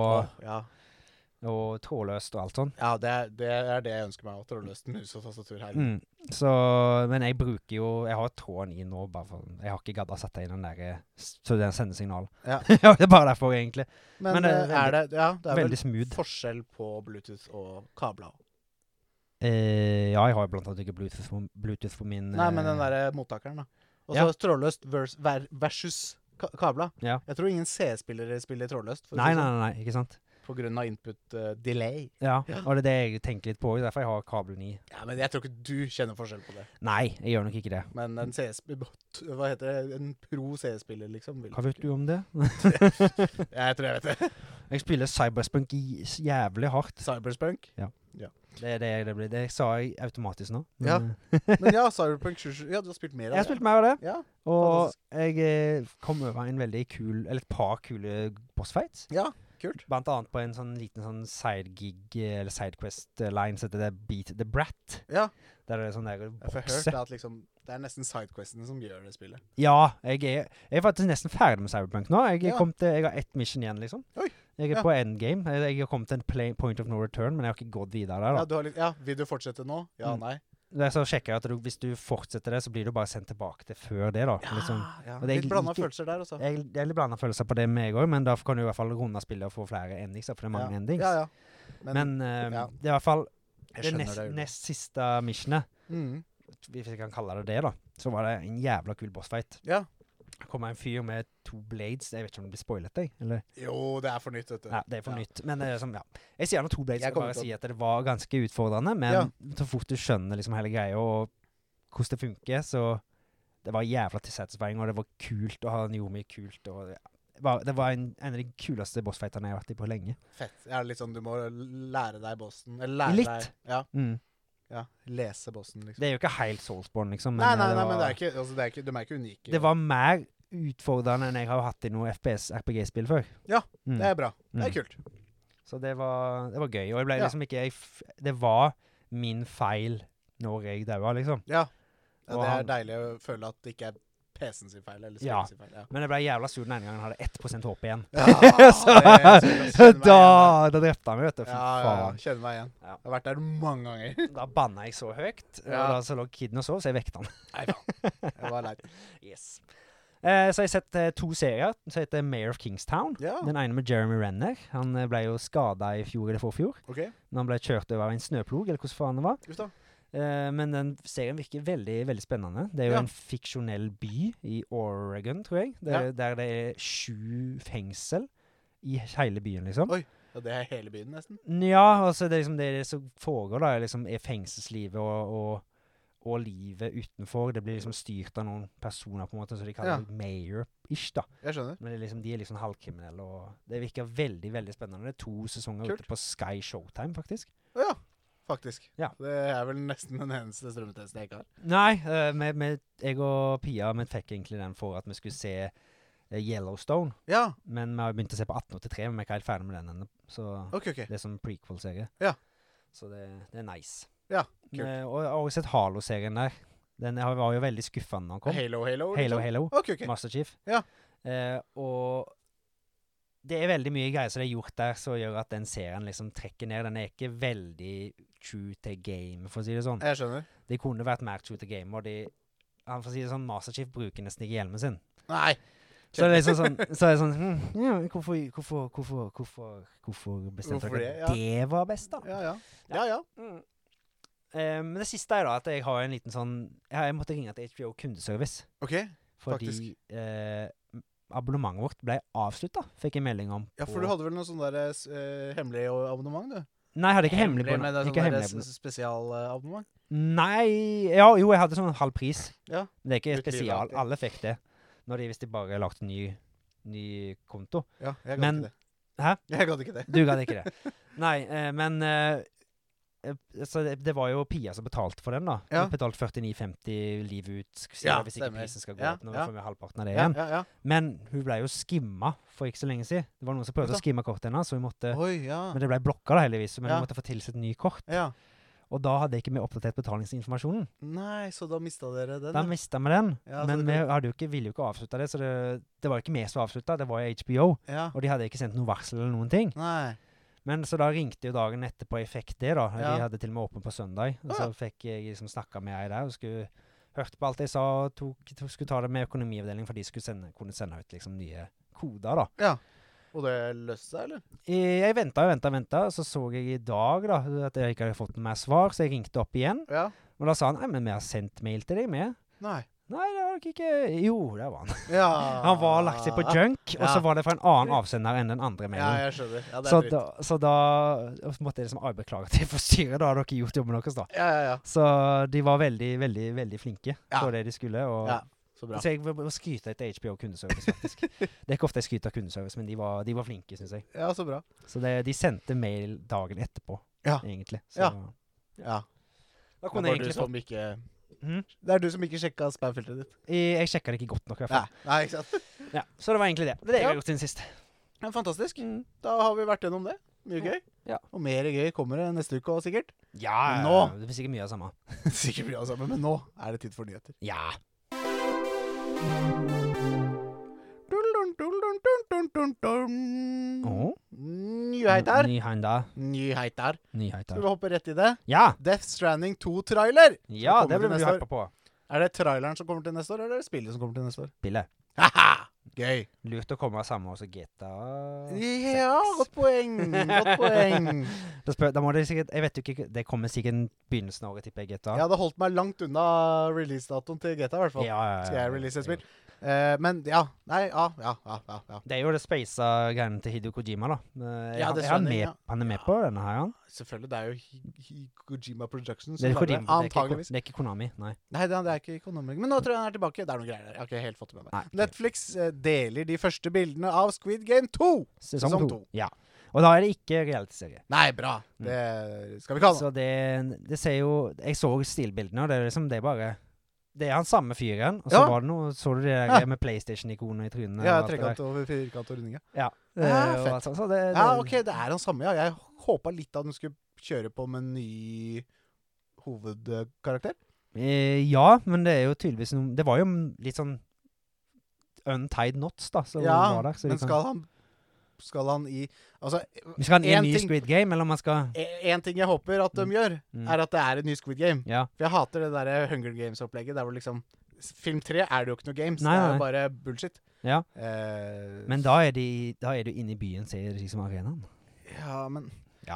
og trådløst og alt sånt. Ja, det er det jeg ønsker meg, trådløst mus og tastatur her. Men jeg bruker jo, jeg har tråden i nå, bare for, jeg har ikke gadda sett det i den der, så den sender signal. Ja. Det er bare derfor egentlig. Men det er veldig smooth. Forskjell på Bluetooth og kabler. Ja, jeg har blant annet ikke Bluetooth på min... Nei, men den der mottakeren da. Og så trådløst versus kabler. Ja. Jeg tror ingen C-spillere spiller trådløst. Nei, ikke sant? På grunn av input delay. Ja, og det er det jeg tenker litt på, derfor jeg har kabelen i. Ja, men jeg tror ikke du kjenner forskjell på det. Nei, jeg gjør nok ikke det. Men en hva heter det? En pro C-spiller, liksom. Hva vet du om det? Jeg tror jeg vet det. Jeg spiller Cyberspunk jævlig hardt. Cyberspunk? Ja. Det blir. Det sa jeg automatisk nå. Ja, men ja, Cyberpunk 27, ja, du har spilt mer av det. Jeg har spilt mer av det. Ja, og jeg kom over en veldig kul, eller et par kule bossfights. Ja, kult. Blant annet på en sånn liten sånn side-gig, eller side-quest-line, så det er Beat the Brat. Ja. Der er det sånn der bokse. Jeg har hørt at liksom, det er nesten sidequestene som gjør det spillet. Ja, jeg er faktisk nesten ferdig med Cyberpunk nå. Jeg har ett mission igjen, liksom. Oi. Jeg er på endgame. Jeg har kommet til en point of no return, men jeg har ikke gått videre der da. Vil du fortsette nå? Ja, nei. Så sjekker jeg at hvis du fortsetter det, så blir du bare sendt tilbake til før det da. Litt blandet følelser der også. Jeg er litt blandet følelser på det med meg også, men da kan du i hvert fall runde spillet og få flere endings, for det er mange endings. Ja. Men det er i hvert fall det nest siste missionet, hvis jeg kan kalle det da, så var det en jævla kul bossfight. Ja. Det kommer en fyr med 2 blades. Jeg vet ikke om det blir spoilet deg, eller? Jo, det er for nytt, vet du. Ja, det er for nytt. Men det er som, jeg sier gjerne 2 blades, jeg bare sier at det var ganske utfordrende, men så fort du skjønner liksom hele greia og hvordan det funker, så det var jævla tilsatisfying, og det var kult, og han gjorde mye kult, og det var en av de kuleste bossfighterne jeg har vært i på lenge. Fett. Ja, litt sånn, du må lære deg bossen, eller lære litt. Deg, ja, lese bossen, liksom. Det er jo ikke helt Soulsborne, liksom. Nei, men det er ikke, altså, de er ikke unike. Det var mer utfordrende enn jeg har hatt i noe FPS-RPG-spill før. Ja, det er bra. Det er kult. Så det var gøy, og jeg ble liksom ikke... det var min feil når jeg døde, liksom. Ja, det er deilig å føle at det ikke er PC-en sin feil, eller spillet sin feil. Ja. Men jeg ble jævla sur den ene gangen jeg hadde 1% håp igjen. Ja, da drepte han meg, vet du. Ja, kjenner meg igjen. Jeg har vært der mange ganger. Da bannet jeg så høyt, og da så lå kiden og sov, så jeg vekte han. Nei, faen. Jeg var leit. Yes. Så jeg har sett 2 serier, som heter Mayor of Kingstown. Ja. Den ene med Jeremy Renner. Han ble jo skadet i fjor eller forfjor. Ok. Når han ble kjørt over en snøplog, eller hvordan faen det var. Just da. Men den serien virker veldig, veldig spennende. Det er jo en fiksjonell by i Oregon, tror jeg. Der det er 7 fengsel i hele byen, liksom. Oi, ja, det er hele byen nesten. Ja, altså det er liksom det som foregår da, liksom er fengselslivet og livet utenfor. Det blir liksom styrt av noen personer på en måte, så de kaller det mayor-ish da. Jeg skjønner. Men de er liksom halvkriminelle, og det virker veldig, veldig spennende. Det er 2 sesonger ute på Sky Showtime, faktisk. Ja. Faktisk. Ja. Det er vel nesten den eneste strømmetesten jeg ikke har. Nei, jeg og Pia fikk egentlig den for at vi skulle se Yellowstone. Ja. Men vi har begynt å se på 1883, men vi er ikke helt ferdig med den ennå. Så det er som prequel-serie. Ja. Så det er nice. Ja, kult. Og jeg har også sett Halo-serien der. Den var jo veldig skuffende når den kom. Halo. Ok. Master Chief. Ja. Og det er veldig mye greier som det er gjort der, som gjør at den serien liksom trekker ned. Den er ikke veldig true to game, for å si det sånn. Jeg skjønner. Det kunne vært mer true to game, og for å si det sånn, Master Chief bruker nesten ikke hjelmen sin. Nei. Så det er liksom hvorfor bestemte dere det var best da? Ja. Men det siste er da at jeg har en liten sånn, jeg måtte ringe til HBO kundeservice. Ok, faktisk. Fordi abonnementet vårt ble avsluttet, fikk jeg melding om. Ja, for du hadde vel noe sånn der hemmelig abonnement, du? Nei, jeg hadde ikke hemmelig på. Men det er sånn der spesialabonnement? Nei, jo, jeg hadde sånn halv pris. Ja. Men det er ikke spesial, alle fikk det. Hvis de bare lagde en ny konto. Ja, jeg gadd ikke det. Hæ? Jeg gadd ikke det. Du gadd ikke det. Nei, men så det var jo Pia som betalte for den da. Hun betalte 49,50 liv ut, hvis ikke prisen skal gå opp. Nå får vi halvparten av det igjen. Men hun ble jo skimma for ikke så lenge siden. Det var noen som prøvde å skimme kortet hennes, så vi måtte... Men det ble blokket da heldigvis, men vi måtte få tilsett ny kort. Og da hadde ikke vi oppdatert betalingsinformasjonen. Nei, så da mistet dere den? Da mistet vi den, men vi ville jo ikke avslutte det, så det var ikke vi som avsluttet, det var jo HBO, og de hadde ikke sendt noen varsel eller noen ting. Nei. Men så da ringte jo dagen etterpå jeg fikk det da. De hadde til og med åpen på søndag. Og så fikk jeg liksom snakket med jeg der, og hørte på alt jeg sa, og skulle ta det med økonomiavdelingen, for de skulle kunne sende ut liksom nye koder da. Ja. Og det løste seg, eller? Jeg ventet, så jeg i dag da, at jeg ikke hadde fått noe mer svar, så jeg ringte opp igjen. Ja. Og da sa han, men vi har sendt mail til deg med. Nei, det var ikke... Jo, det var han. Ja. Han var lagt seg på junk, og så var det fra en annen avsender enn den andre mailen. Ja, jeg skjønner. Ja, det er dritt. Så da måtte jeg liksom beklage til forstyrret, da hadde dere gjort jobben deres da. Ja. Så de var veldig, veldig, veldig flinke på det de skulle, og... Ja. Så bra. Så jeg vil skryte etter HBO kundeservice, faktisk. Det er ikke ofte jeg skryter av kundeservice, men de var flinke, synes jeg. Ja, så bra. Så de sendte mail dagen etterpå, egentlig. Så, ja. Da kunne jeg egentlig... Som ikke... Det er du som ikke sjekket spamfilteret ditt. Jeg sjekket det ikke godt nok, i hvert fall. Nei, ikke sant? Ja, så det var egentlig det. Det er det jeg har gjort siden sist. Ja, fantastisk. Da har vi vært gjennom det. Mye gøy. Ja. Og mer gøy kommer det neste uke også, sikkert. Ja, nå, det blir sikkert mye av det samme. Sikkert mye av det samme, men nå er det tid for nyheter. Ja. Nyheter. Skal vi hoppe rett i det? Ja. Death Stranding 2-trailer. Ja, det blir vi hypet på. Er det traileren som kommer til neste år, eller er det spillet som kommer til neste år? Spillet. Haha! Gøy. Lurt å komme sammen også GTA 6. Ja, godt poeng. Da må det sikkert, jeg vet jo ikke, det kommer sikkert begynnelsen av året til GTA. Ja, det holdt meg langt unna release-datoen til GTA i hvert fall. Ja. Skal jeg release et spill? Men ja, ja. Det er jo det space-greiene til Hideo Kojima da. Han er med på denne her, han? Selvfølgelig, det er jo Kojima Productions. Det er ikke Konami, nei. Nei, det er ikke Konami. Men nå tror jeg han er tilbake. Det er noen greier der. Jeg har ikke helt fått det med meg. Netflix deler de første bildene av Squid Game 2. Sesong 2. Ja. Og da er det ikke reality-serie. Nei, bra. Det skal vi kalle det. Så det ser jo... Jeg så stilbildene, og det er liksom, det er bare... Det han samme fyren, og så var det noe, så du det der med PlayStation-ikoner i trynet? Ja, trekant over firkant og runding, ja. Fett. Så det, ok, det han samme, ja. Jeg håpet litt at den skulle kjøre på med en ny hovedkarakter. Ja, men det jo tydeligvis noe, det var jo litt sånn untied knots da, så var der. Så men skal han i... Altså, skal han i en ny Squid Game, eller om han skal... En ting jeg håper at de gjør, at det en ny Squid Game. Ja. For jeg hater det der Hunger Games-opplegget, der hvor liksom... Film 3 det jo ikke noe games, nei. Det jo bare bullshit. Ja. Men da du inne i byen, ser det liksom arenaen. Ja, men... Ja,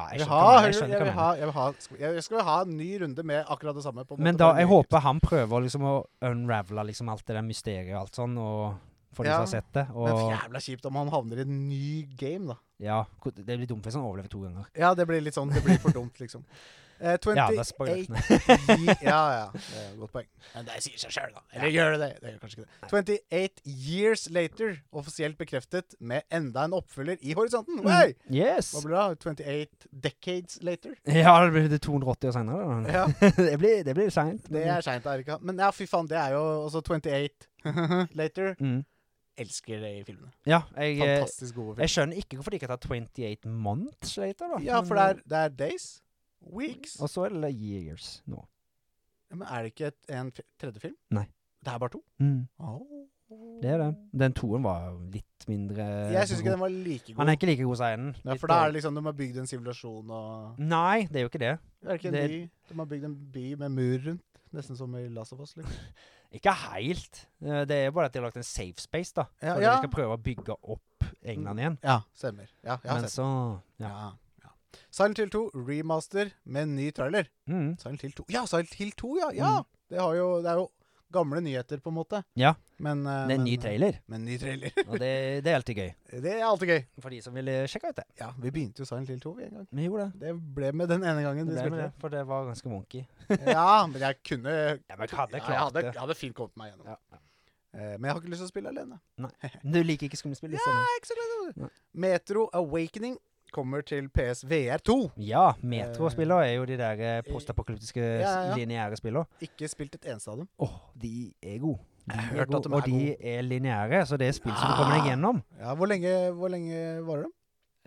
jeg skal ha en ny runde med akkurat det samme. På en men måte, da, jeg håper han prøver liksom å unravele liksom alt det der mysteriet og alt sånn, og for de som har sett det. Og men jævla kjipt om han havner i en ny game, da. Ja, det blir dumt hvis han overlever 2 ganger. Ja, det blir litt sånn, det blir for dumt, liksom. 28 ja, det spoiler. ja, det godt poeng. Men det sier seg selv, da. Eller gjør det? Det gjør kanskje ikke det. 28 Years Later, offisielt bekreftet med enda en oppfølger i horisonten. Hey! Yes! Hva blir det? 28 Decades Later? Ja, det blir 280 år senere. Ja. det blir sent. Det sent, Erika. Men ja, fy faen, det jo også 28 Later. Elsker det i filmene. Ja, fantastisk gode filmer. Jeg skjønner ikke hvorfor de ikke har tatt 28 months later, da. Ja, for det days, weeks. Og så det years nå. Ja, men det ikke en tredje film? Nei. Det bare 2? Det det. Den 2-en var litt mindre... Jeg synes ikke den var like god. Han ikke like god, sier den. Ja, for da det liksom, de har bygd en sivilisasjon og... Nei, det jo ikke det. Det ikke en by. De har bygd en by med mur rundt. Nesten som i Last of Us, liksom. Ikke helt. Det bare at de har lagt en safe space, da. Ja, for de skal prøve å bygge opp England igjen. Ja, stemmer. Ja, men så... Ja. Silent Hill 2 remaster med en ny trailer. Silent Hill 2. Ja, Silent Hill 2, ja. Det er jo gamle nyheter, på en måte. Ja. Men, det en ny trailer. Men ny trailer. Og det alltid gøy. Det alltid gøy. For de som ville sjekke ut det. Ja, vi begynte jo Silent Hill 2 en gang. Vi gjorde det. Det ble med den ene gangen. Det ble med det, for det var ganske wonky. Ja, men jeg kunne... Ja, men jeg hadde fint kommet meg gjennom. Ja. Men jeg har ikke lyst til å spille alene. Nei. Du liker ikke skummespill? Ja, ikke så glad. Metro Awakening kommer til PSVR 2. Ja, Metro-spillene jo de der postapokalyptiske lineære spillene. Ikke spilt et eneste av dem. De gode. Jeg har hørt at de og de lineære, så det spill som du kommer deg gjennom. Ja, hvor lenge varer de?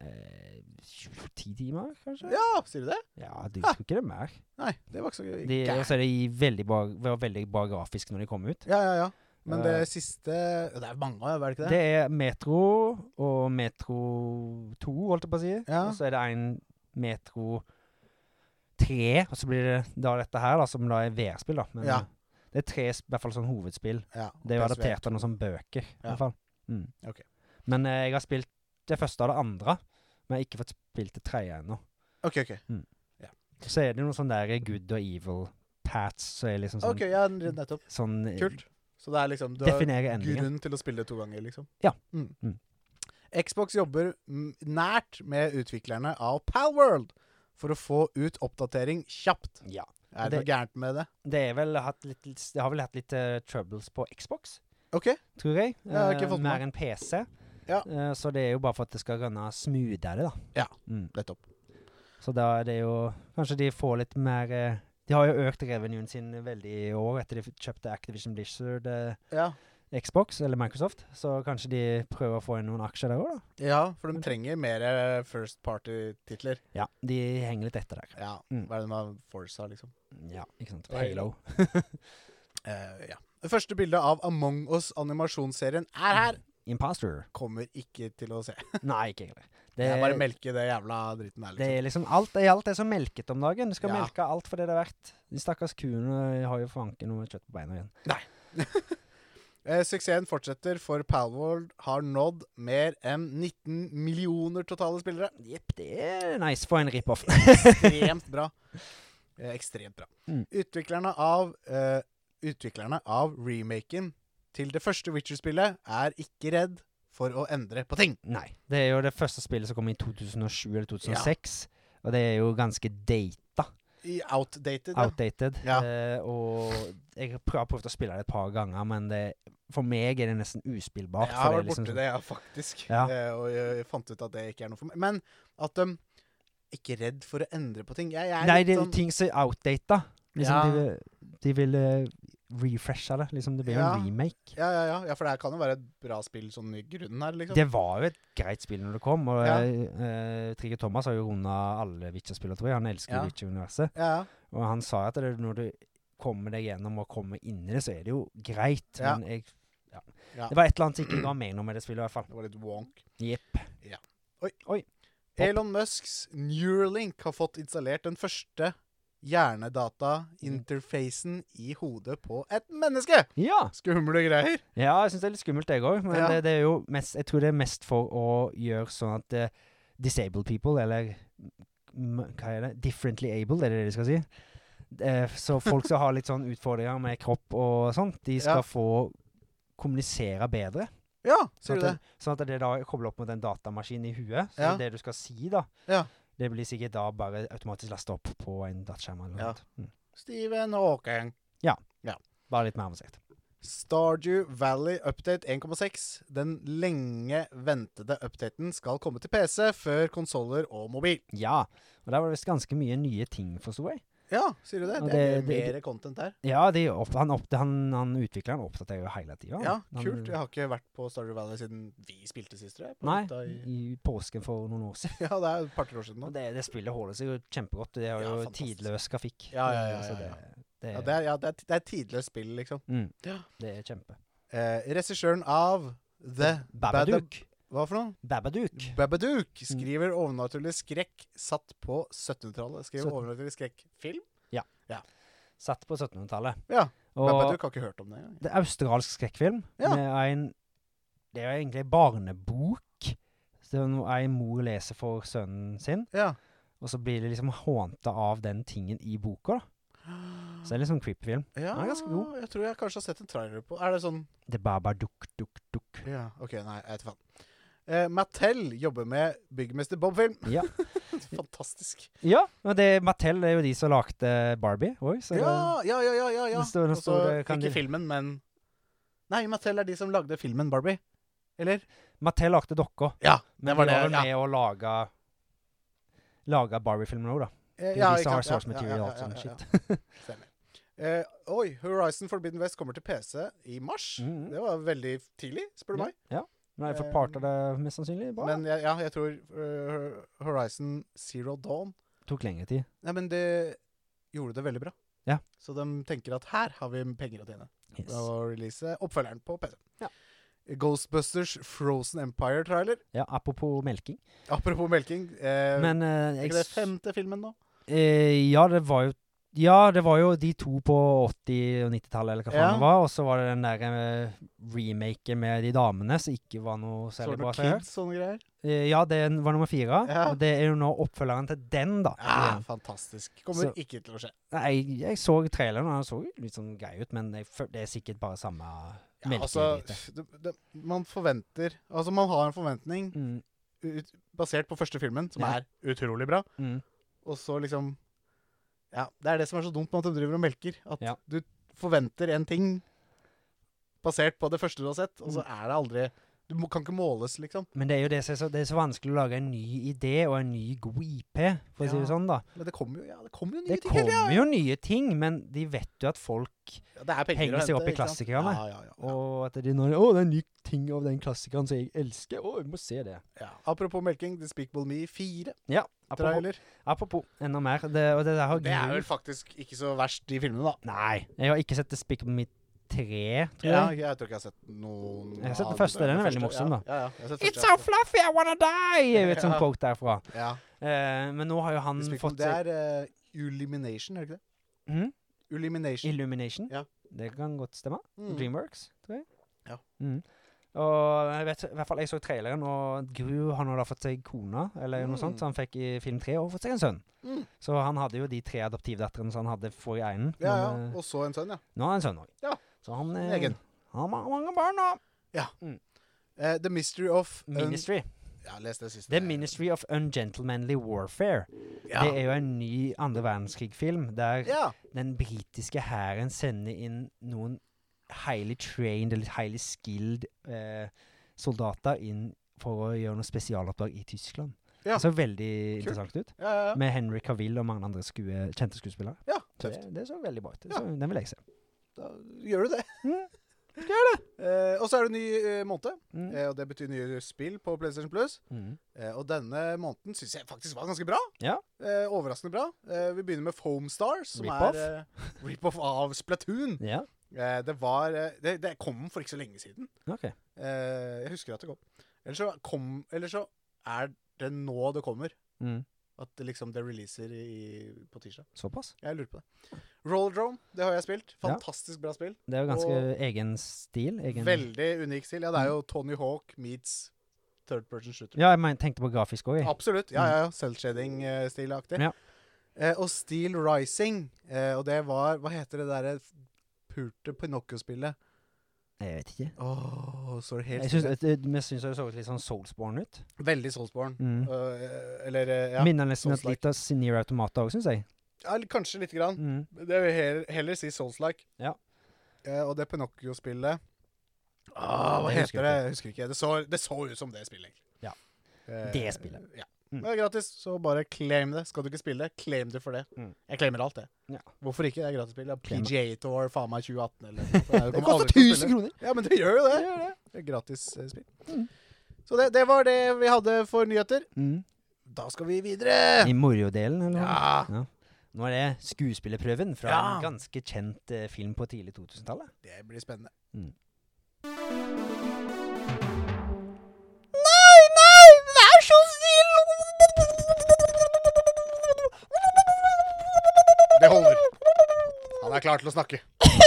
10 timer, kanskje? Ja, sier du det? Ja, du husker ikke det mer. Nei, det var ikke så gøy. Og så var veldig bra grafisk når de kom ut. Ja. Men det siste... Det mange, var det ikke det? Det Metro og Metro 2, holdt jeg på å si. Ja. Og så det en Metro 3, og så blir det da dette her, da, som da VR-spill, da. Men det 3 i hvert fall sånn hovedspill. Ja, det jo adaptert av noen sånn bøker, i hvert fall. Okay. Men jeg har spilt det første og det andre, men jeg har ikke fått spilt det 3 ennå. Ok. Ja. Så det noen sånne der good og evil paths, så liksom sånn... Ok, ja, nettopp. Sånn... Kult. Så det liksom, du har grunn til å spille 2 ganger, liksom. Ja. Xbox jobber nært med utviklerne av Palworld for å få ut oppdatering kjapt. Ja. Det noe gærent med det? Det har vel hatt litt troubles på Xbox. Ok. Tror jeg. Jeg har ikke fått med. Mer enn PC. Ja. Så det jo bare for at det skal rønne smoothere, da. Ja, nettopp. Så da det jo... Kanskje de får litt mer... De har jo økt revenuen sin veldig i år etter de kjøpte Activision Blizzard Xbox, eller Microsoft. Så kanskje de prøver å få inn noen aksjer der også, da. Ja, for de trenger mer first party-titler. Ja, de henger litt etter der. Ja, hva det med Forza, liksom? Ja, ikke sant. Halo. Ja. Det første bildet av Among Us-animasjonsserien her. Imposter. Kommer ikke til å se. Nei, ikke heller. Jeg bare melker det jævla dritten her, liksom. Det liksom alt så melket om dagen. Du skal melke alt for det det verdt. De stakkars kuene har jo fanken noe kjøtt på beina igjen. Nei. Suksessen fortsetter, for Palworld har nådd mer enn 19 millioner totale spillere. Jepp, det nice for en rip-off. Ekstremt bra. Ekstremt bra. Utviklerne av remaken til det første Witcher-spillet ikke redd for å endre på ting. Nei, det jo det første spillet som kom i 2007 eller 2006, og det jo ganske data. Outdated. Ja. Og jeg har prøvd å spille det et par ganger, men for meg det nesten uspillbart. Jeg har vært borte det, faktisk. Ja. Og jeg fant ut at det ikke noe for meg. Men at de ikke redd for å endre på ting. Nei, det ting som outdated. Liksom, de vil refresha det. Liksom, det blir jo Ja. en remake. Ja, for det her kan jo være et bra spill sånn i grunnen her, liksom. Det var jo et greit spill når det kom, og Ja. Trigger Thomas har jo rundet alle Witcher-spillere, tror jeg. Han elsker Ja. Witcher-universet. Ja, Og han sa at når du kommer deg gjennom og kommer inn i det, så er det jo greit. Ja. Men Ja. det var et eller annet som ikke ga mening med det spillet, i hvert fall. det var litt wonk. Jepp. Oi. Elon Musks Neuralink har fått installert den første hjernedata-interfacen i hodet på et menneske. Ja! Skumle greier. Ja, jeg synes det er litt skummelt, jeg også. Men Ja. det er jo mest, jeg tror det er mest for å gjøre sånn at disabled people, eller hva er det? Differently abled, er det de skal si? Så folk som har litt sånn utfordringer med kropp og sånt, de skal Ja. få kommunisere bedre. Ja, Sånn sier du at det? sånn at det da kobler opp mot en datamaskin i huet. Så Ja. det du skal si da, Ja. det blir sikkert da bare automatisk lastet opp på en dataskjerm eller noe Ja. sånt. Stephen Hawking. Bare litt mer avansert. Stardew Valley Update 1,6. Den lenge ventede updaten skal komme til PC før konsoller og mobil. Ja, og der var det visst ganske mye nye ting, forstod jeg. Ja, sier du det? Og Det er det- mer content der. Ja, han utvikleren oppdaterer jo hele tiden. Ja, kult. Jeg har ikke vært på Stardew Valley siden vi spilte sist, tror jeg. På Nei, hytta i påsken for noen år siden. Ja, det er et par-tre år siden nå. Og det spillet holder seg jo kjempegodt. Det er Ja, jo fantastisk. tidløs grafikk. Ja. Så Ja, det det er et tidløst spill, liksom. ja, det er kjempe. Regissøren av The Babadook. Hva for noe? Babadook. Babadook skriver overnaturlig skrekk satt på 1700-tallet. Skriver overnaturlig skrekkfilm? Satt på 1700-tallet. Ja. Og Babadook har ikke hørt om det engang. det er australsk skrekkfilm. Ja. Det er jo egentlig en barnebok. Så en mor leser for sønnen sin, Ja. og så blir det liksom hånta av den tingen i boka, da. Så det er litt sånn creepy film. Ja, Den er ganske god. jeg tror jeg kanskje har sett en trailer på. Er det sånn? Det er Babadook, duk. Ja, ok, nei, jeg vet faen. Mattel jobber med Byggmester Bob-film. Ja. Fantastisk. Ja, og Mattel er jo de som lagde Barbie også, så Ja. Det står- det står det, kan ikke de- filmen, men... Nei, Mattel er de som lagde filmen Barbie. Eller? Mattel lagde dokka. Ja, Men det var de var det. vel med å lage Barbie-filmen også, da. Det er de som har source material og sånn shit. Stemmer. Oi, Horizon Forbidden West kommer til PC i mars. Mhm. Det var veldig tidlig, spør du meg. Ja. Nå har jeg fått part av det mest sannsynlig. Bra. Men jeg tror Horizon Zero Dawn Tok lengre tid. Nei, men det gjorde det veldig bra. Ja. Så de tenker at her har vi penger å tjene. Yes. Og release oppfølgeren på PC. Ja. Ghostbusters Frozen Empire-trailer. Ja, apropos melking. Apropos melking. Men er ikke det femte filmen nå? Ja, det var jo de to på 80- og 90-tallet, eller hva faen Ja. det var. Og så var det den der remaken med de damene, som ikke var noe Så særlig det bra. noe så jeg har kids, sånne greier? hørt. Ja, det var nummer 4. Ja. Og det er jo nå oppfølgeren til den, da. Ja, fantastisk. Kommer Så- ikke til å skje. Nei, jeg så traileren, og den så jo litt sånn grei ut, men det er sikkert bare samme Ja, melkeelite. altså, man forventer... Altså, man har en forventning Mm, basert på første filmen, som Ja. er utrolig bra. mm. Og så liksom... Ja, det er det som er så dumt med at de driver og melker. At Ja. du forventer en ting basert på det første du har sett, og så Mm. er det aldri... Du kan ikke måles, liksom. Men det er jo det som er det er så vanskelig å lage en ny idé og en ny god IP, for å si det Ja. sånn, da. Men det kommer jo, det kommer jo nye Det ting hele kommer tiden. jo nye ting, men de vet jo at folk Ja, det er penger henger å seg hente, opp i ikke sant? klassikerne. Ja. Og at de når det er en ny ting av den klassikeren som jeg elsker. Jeg må se det. Ja. Apropos melking, Despicable Me 4, Ja, apropos, trailer. apropos enda mer. Og det der har Det er Gru- vel faktisk ikke så verst, de filmene, da. Nei, jeg har ikke sett Despicable Me 3, tror Ja, jeg. jeg tror ikke jeg har sett noen Jeg har sett den av første, den er første. veldig morsom, da. Ja, jeg har sett It's første, so fluffy, I wanna die! Jeg vet sånn Ja. quote derfra. Ja. Men nå har jo han Despicable, fått det er Illumination, er det ikke det? Mhm. Illumination. Illumination. Ja. Det kan godt stemme. Mm. Dreamworks, tror jeg. Ja. Mm. Og jeg vet, i hvert fall jeg så traileren, og Gru har nå da fått seg kona, eller noe sånt, så han fikk i film 3 og fått seg en sønn. Mm. Så han hadde jo de 3 adoptivdatterne som han hadde forrige enen. Ja, men, og så en sønn, ja. nå har han en sønn også. Ja. Så han Egen. har mange barn nå. The Mystery of... Ministry. Ja, les det siste. The Ministry of Ungentlemanly Warfare. Ja. Det er jo en ny andre verdenskrig-film, der Ja. den britiske hæren sender inn noen highly trained, eller highly skilled soldater inn for å gjøre noe spesialoppdrag i Tyskland. Ja. Det så veldig Kult. interessant ut. Ja. Med Henry Cavill og mange andre kjente skuespillere. Ja, Så tøft. det så veldig bra ut. Ja. Så den vil jeg se. da gjør du det. Gjør det. Og så er det ny måned, Mm. og det betyr nye spill på PlayStation Plus. Mm. Og denne måneden synes jeg faktisk var ganske bra. Ja. Overraskende bra. Vi begynner med Foam Stars, som Rip-off. er rip-off av Splatoon. Ja. Det kom for ikke så lenge siden. Ok. Jeg husker at det kom. Eller så er det nå det kommer. Mm. At det liksom det releaser på tirsdag. Såpass. Jeg lurer på det. Rollerdrome, det har jeg spilt. Fantastisk bra spill. Det er jo ganske Og egen stil. Veldig unik stil. Ja, det er jo Tony Hawk meets third person shooter. Ja, jeg tenkte på grafisk også. Absolutt. Ja. Cell-shading-stilaktig. Ja. Og Steel Rising. Og det var, hva heter det der pulte Pinocchio-spillet? Jeg vet ikke. Så det helt Jeg synes det så litt sånn Soulsborne ut. Veldig Soulsborne. Mm. Ja. Minner nesten Souls-like. litt av Nier Automata også, synes jeg. Ja, kanskje litt grann. Mm. Det vil heller si Souls-like. Ja. Og det Pinocchio-spillet hva Det husker heter det? Jeg husker ikke. Det så ut som det spillet, egentlig. Ja. Det spillet. Ja. Mm. Det er gratis, så bare claim det. Skal du ikke spille det, claim det for det. Mm. Jeg claimer alt det. Ja. Hvorfor ikke? Det er gratis spill. Ja, Claim PGA Tour, faen meg 2018 eller noe. Det kommer koster aldri til å 1000 spille. kroner! Ja, men det gjør jo det. Det er gratis spill. Mm. Så det var det vi hadde for nyheter. Mm. Da skal vi videre. I moro-delen, eller noe? Ja, Nå er det skuespillerprøven fra Ja. en ganske kjent film på tidlig 2000-tallet. det blir spennende. Mm. Nei, vær så snill! Det holder. Han er klar til å snakke.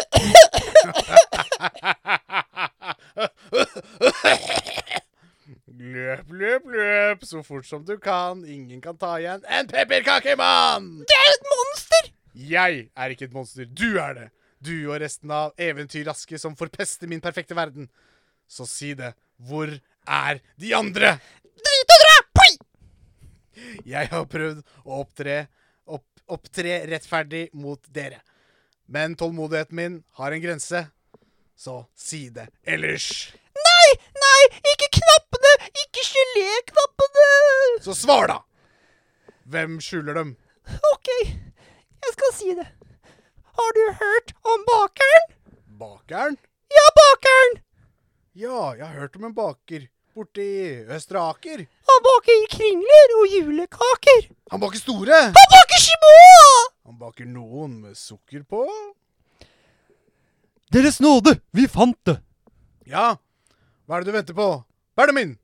Løp, så fort som du kan. Ingen kan ta igjen en pepperkakemann! Det er et monster! Jeg er ikke et monster, du er det. Du og resten av eventyrraske som forpester min perfekte verden. Så si det. Hvor er de andre? Drit og dra! Poi! Jeg har prøvd å opptre rettferdig mot dere. Men tålmodigheten min har en grense. Så si det ellers. Nei, ikke knappene! Ikke gelé-knappene! Så svar da! Hvem skjuler dem? Ok, jeg skal si det. Har du hørt om bakeren? Bakeren? Ja, bakeren! Ja, jeg har hørt om en baker borti Østre Aker. Han baker kringler og julekaker. Han baker store. Han baker små! Han baker noen med sukker på. Deres nåde, vi fant det. Ja, hva er det du venter på? Benjamin!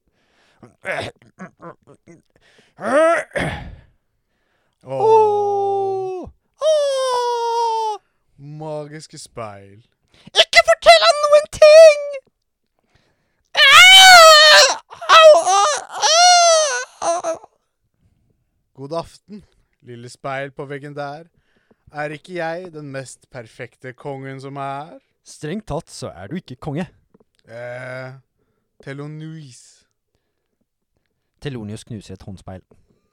Magiske speil. Ikke fortell han noen ting! God aften, lille speil på veggen der. Er ikke jeg den mest perfekte kongen som er? Strengt tatt så er du ikke konge. Telonuis. Telonius knuser et håndspeil.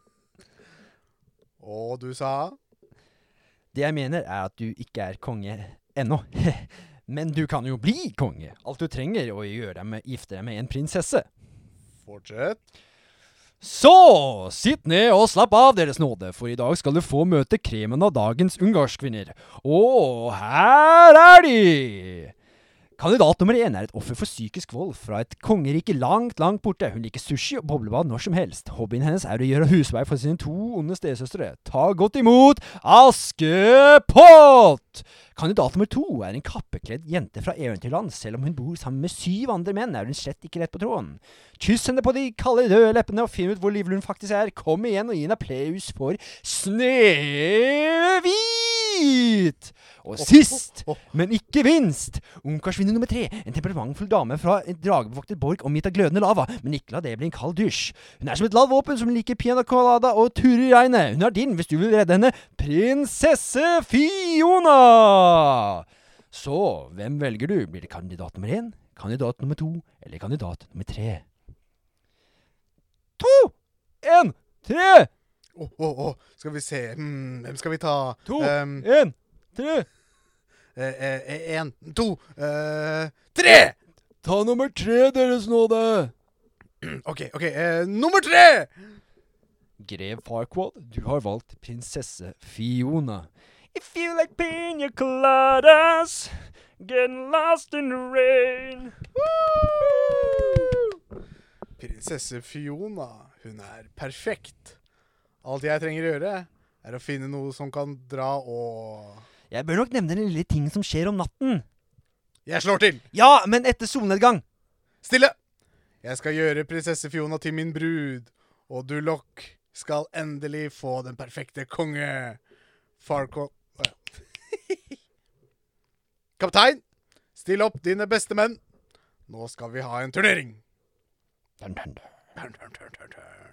Og du sa? Det jeg mener er at du ikke er konge ennå. Men du kan jo bli konge. Alt du trenger å gjøre er å gifte deg med en prinsesse. Fortsett. Så, sitt ned og slapp av, deres nåde, for i dag skal du få møte kremen av dagens ungarskvinner. Og her er de! Kandidat nummer 1 er et offer for psykisk vold fra et kongerike langt, langt borte. Hun liker sushi og boblebad når som helst. Hobbyen hennes er å gjøre husvei for sine 2 onde stesøstre. Ta godt imot Askepott! Kandidat nummer 2 er en kappekledd jente fra eventyrland. Selv om hun bor sammen med 7 andre menn, er hun slett ikke rett på tråden. Kyss henne på de kalde røde leppene og finn ut hvor livlig hun faktisk er. Kom igjen og gi en applaus for Snehvit! Og sist, men ikke minst, ungkarsvinner nummer 3, en temperamentfull dame fra en dragebevoktet borg omgitt av glødende lava, men ikke la det bli en kald dusj. Hun er som et ladd våpen som liker piano colada og turer i regnet. Hun er din hvis du vil redde henne, prinsesse Fiona! Så, hvem velger du? Blir det kandidat nummer 1, kandidat nummer 2, eller kandidat nummer 3? 2, 1, 3! Skal vi se. Hvem skal vi ta? 2, 1, 3! 1, 2, 3! Ta nummer 3, deres nåde! Ok, nummer 3! Grev Farquaad, du har valgt prinsesse Fiona. If you like pina coladas, getting lost in the rain. Prinsesse Fiona, hun perfekt. Alt jeg trenger å gjøre å finne noe som kan dra og... Jeg bør nok nevne den lille ting som skjer om natten. Jeg slår til! Ja, men etter solnedgang. Stille! Jeg skal gjøre prinsesse Fiona til min brud, og du Locke skal endelig få den perfekte konge. Farquaad... Kaptein, still opp dine beste menn. Nå skal vi ha en turnering. Dun, dun, dun. Turn, turn, turn, turn, turn.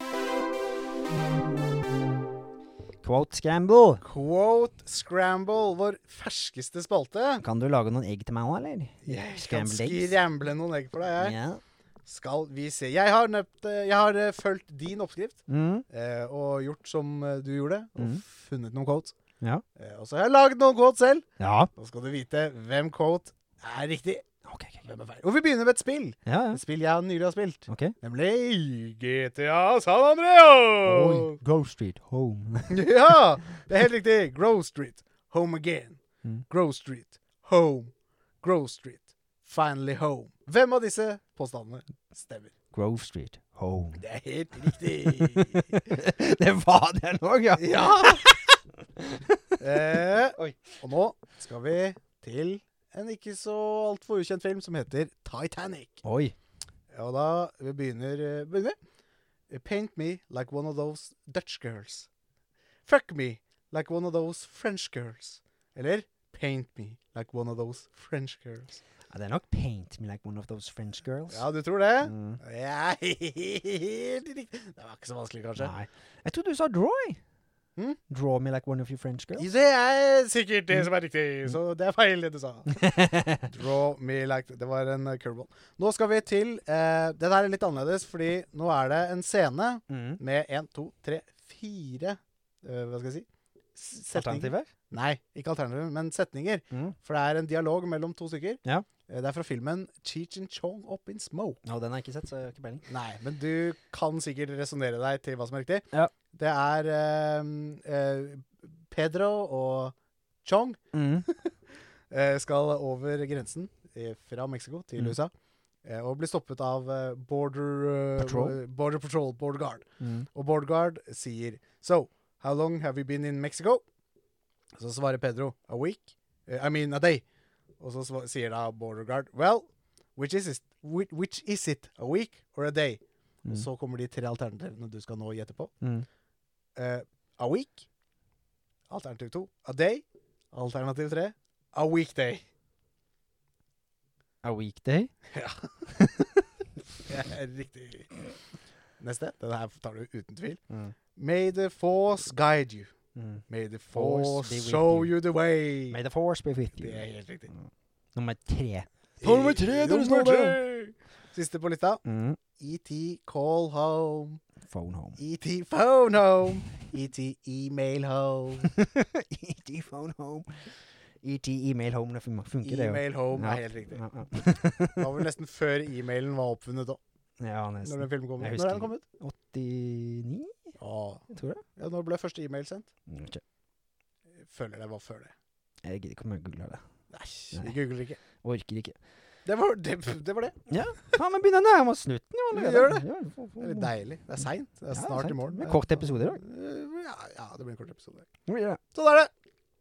Quote scramble. Quote Scramble, vår ferskeste spalte. Kan du lage noen egg til meg også, eller? Jeg kan Scrambled eggs. skramble noen egg for deg, jeg. Ja. Skal vi se. Jeg har fulgt din oppskrift, Mm. og gjort som du gjorde, og funnet noen quotes. Ja. Og så har jeg laget noen quotes selv. Ja. Nå skal du vite hvem quote riktig. Ok. Hvem feil. Og vi begynner med et spill. Ja, ja. Et spill jeg nylig har spilt. Ok. Nemlig GTA San Andreas. Oi, Grove Street, home. Ja, det helt riktig. Grove Street, home again. Mm. Grove Street, home. Grove Street, finally home. Hvem av disse påstandene stemmer? Grove Street, home. Det helt riktig. Det var det nå, ja. Ja. Oi. Og nå skal vi til en ikke så alt for ukjent film som heter Titanic. Oi. Og da vi begynner vi. Paint me like one of those Dutch girls. Fuck me like one of those French girls. Eller paint me like one of those French girls. Ja, det nok paint me like one of those French girls. Ja, du tror det? Mm. Ja, helt riktig. Det var ikke så vanskelig, kanskje. Nei. Jeg trodde du sa draw. Hmm? Draw me like one of your French girls. Det sikkert det som riktig, så det feil det du sa. Draw me like... Det var en curveball. Nå skal vi til... det der litt annerledes, fordi nå det en scene med 1, 2, 3, 4... hva skal jeg si? Alternativer? Nei, ikke alternativer, men setninger. For det en dialog mellom to stykker. Ja. Det fra filmen Cheech and Chong Up in Smoke. Ja, den har jeg ikke sett, så jeg har ikke peiling. Nei, men du kan sikkert resonere deg til hva som riktig. Ja. Det Pedro og Chong skal over grensen fra Mexico til USA og bli stoppet av Border Patrol, Border Guard. Og Border Guard sier So, how long have you been in Mexico? Så svarer Pedro a week. I mean a day. Og så sier da Border Guard Well, which is it? A week or a day? Og så kommer de 3 alternativene du skal nå gjette på. A week. Alternativ 2. A day. Alternativ 3. A weekday. A weekday? Ja. Riktig. Neste. Den her tar du uten tvil. May the force guide you. May the force show you the way. May the force be with you. Det helt riktig. Nummer 3. Nummer 3! Siste på lista. E.T. call home. Phone home. E.T. phone home. E.T. email home. E.T. phone home. E.T. email home, det funker det jo. Email home Ja. helt riktig. Ja. Det var vel nesten før e-mailen var oppfunnet da. Ja, Når nesten. den filmen kom ut. Jeg Når husker den kom ut? 89? Ja. Jeg tror det. Ja, når ble første e-mail sendt? Ikke. Jeg føler det var før det. Jeg gidder ikke om jeg googler det. Nei, vi googler ikke. Orker ikke. Det var det. Ja, faen, men begynner nærmere slutten jo. Vi gjør det. Ja, Det litt deilig. Det sent. Det Ja, snart sant. i morgen. Det kort episode i dag. Ja, det blir en kort episode. Ja. Sånn det.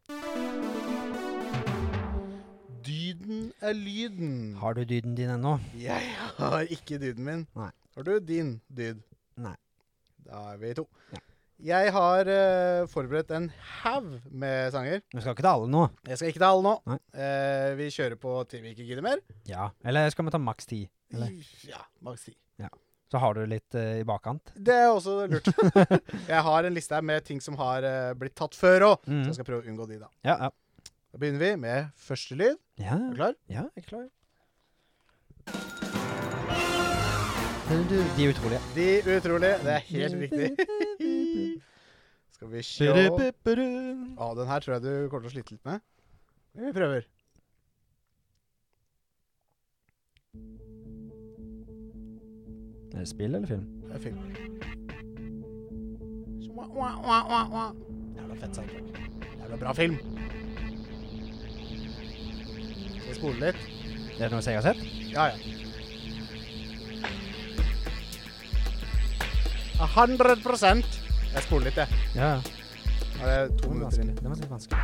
Dyden lyden. Har du dyden din ennå? Jeg har ikke dyden min. Nei. Har du din dyd? Nei. Da vi 2. Ja. Jeg har forberedt en haug med sanger. Vi skal ikke ta alle nå. Jeg skal ikke ta alle nå. Nei. Vi kjører på til vi ikke gidder mer. Ja. Eller skal vi ta maks 10? Eller? Ja, maks 10. Så har du litt i bakkant. Det også lurt. Jeg har en liste her med ting som har blitt tatt før også. Så jeg skal prøve å unngå de da. Ja, ja. Da begynner vi med første lyd. Ja. Er du klar? Ja, jeg er klar. De utrolige. De utrolige. Det er helt riktig. Skal vi se. Den her tror jeg du kommer til å slite litt med. Vi prøver. Er det spill eller film? Det er film. Jævla fett soundtrack. Jævla bra film. Skal jeg spole litt? Det er noe jeg har sett? Ja. 100%. Jeg spoler litt, jeg. Ja. Nå er det 2 minutter inn. Det var litt vanskelig.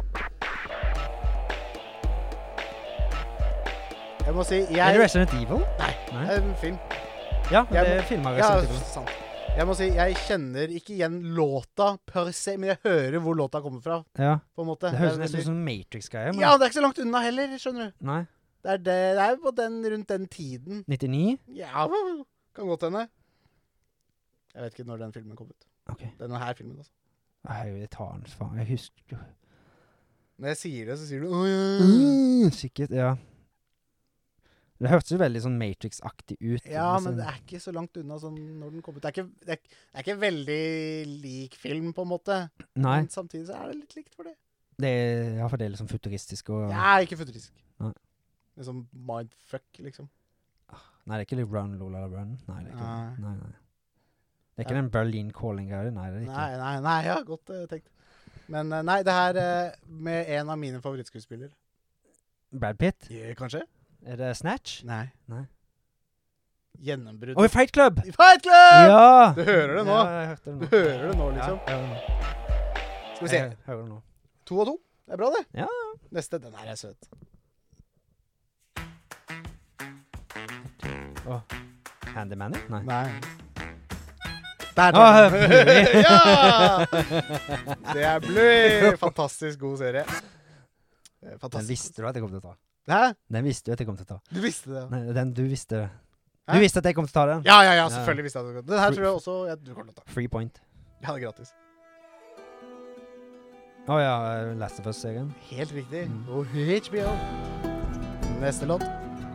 Jeg må si, Er det Resident Evil? Nei, det er en film. Ja, det er filmet Resident Evil. Sant. Jeg må si, jeg kjenner ikke igjen låta per se, men jeg hører hvor låta kommer fra, Ja. på en måte. Det høres nesten ut som Matrix-greier. Ja, det er ikke så langt unna heller, skjønner du. Nei. Det er jo på rundt den tiden. 99? Ja, kan godt hende. Jeg vet ikke når den filmen kom ut. Ok. Denne her filmen, altså. Jeg tar den, faen. Jeg husker. Når jeg sier det, så sier du, ja. Sikkert, ja. Det hørtes jo veldig sånn Matrix-aktig ut. Ja, men det er ikke så langt unna sånn når den kom ut. Det er ikke veldig lik film, på en måte. Nei. Men samtidig så er det litt likt for det. Ja, for det er liksom futuristisk og... Ja, ikke futuristisk. Nei. Det er sånn mindfuck, liksom. Nei, det er ikke litt Run, Lola, Run. Nei, det er ikke det. Nei. Nei. Det er ikke den Berlin Calling-greia. Nei, det er ikke. Nei, ja, godt tenkt. Men nei, det her med en av mine favorittskuespillere. Brad Pitt? Kanskje? Er det Snatch? Nei. Gjennombrudd. Oi, Fight Club! Fight Club! Ja! Du hører det nå. Ja, jeg hørte det nå. Du hører det nå, liksom. Ja, jeg hører det nå. Skal vi se. Jeg hører det nå. 2 og 2. Det er bra, det. Ja. Neste, den her er søt. Handyman? Nei. Nei. Der tar den. Bluey! Ja! Det er Bluey. Fantastisk god serie. Fantastisk. Den visste du at jeg kom til å ta. Hæ? Den visste du at jeg kom til å ta. Du visste det, ja. Nei, du visste det. Hæ? Du visste at jeg kom til å ta den. Ja, selvfølgelig visste jeg det. Den her tror jeg også du kommer til å ta. Free point. Ja, det er gratis. Ja, Last of Us-serien. Helt riktig. Og HBO. Neste låt.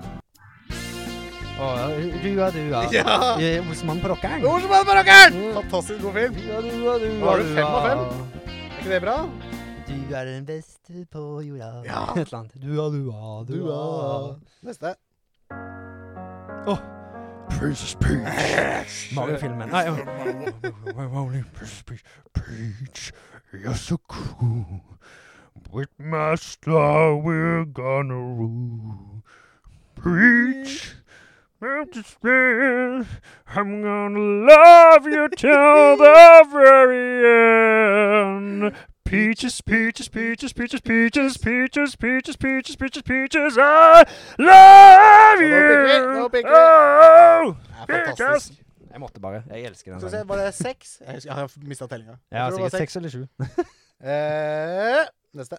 Dua. Ja! Osman på rockeren. Osman på rockeren! Fantastisk god film. Dua. Har du 5 av 5? Er ikke det bra? Du er den beste på jorda. Ja. Et eller annet. Dua. Neste. Princess Peach. Mario-filmen. Nei, Peach, you're so cool. With my star we're gonna rule. Peach, I'm gonna love you till the very end. Peaches, I love you! Nå pikker vi. Oh, Det er fantastisk. Jeg måtte bare. Jeg elsker den Skal vi se, sangen. var det 6? Jeg har mistet tellinga. Ja, tror det var sikkert 6 eller 7. Neste.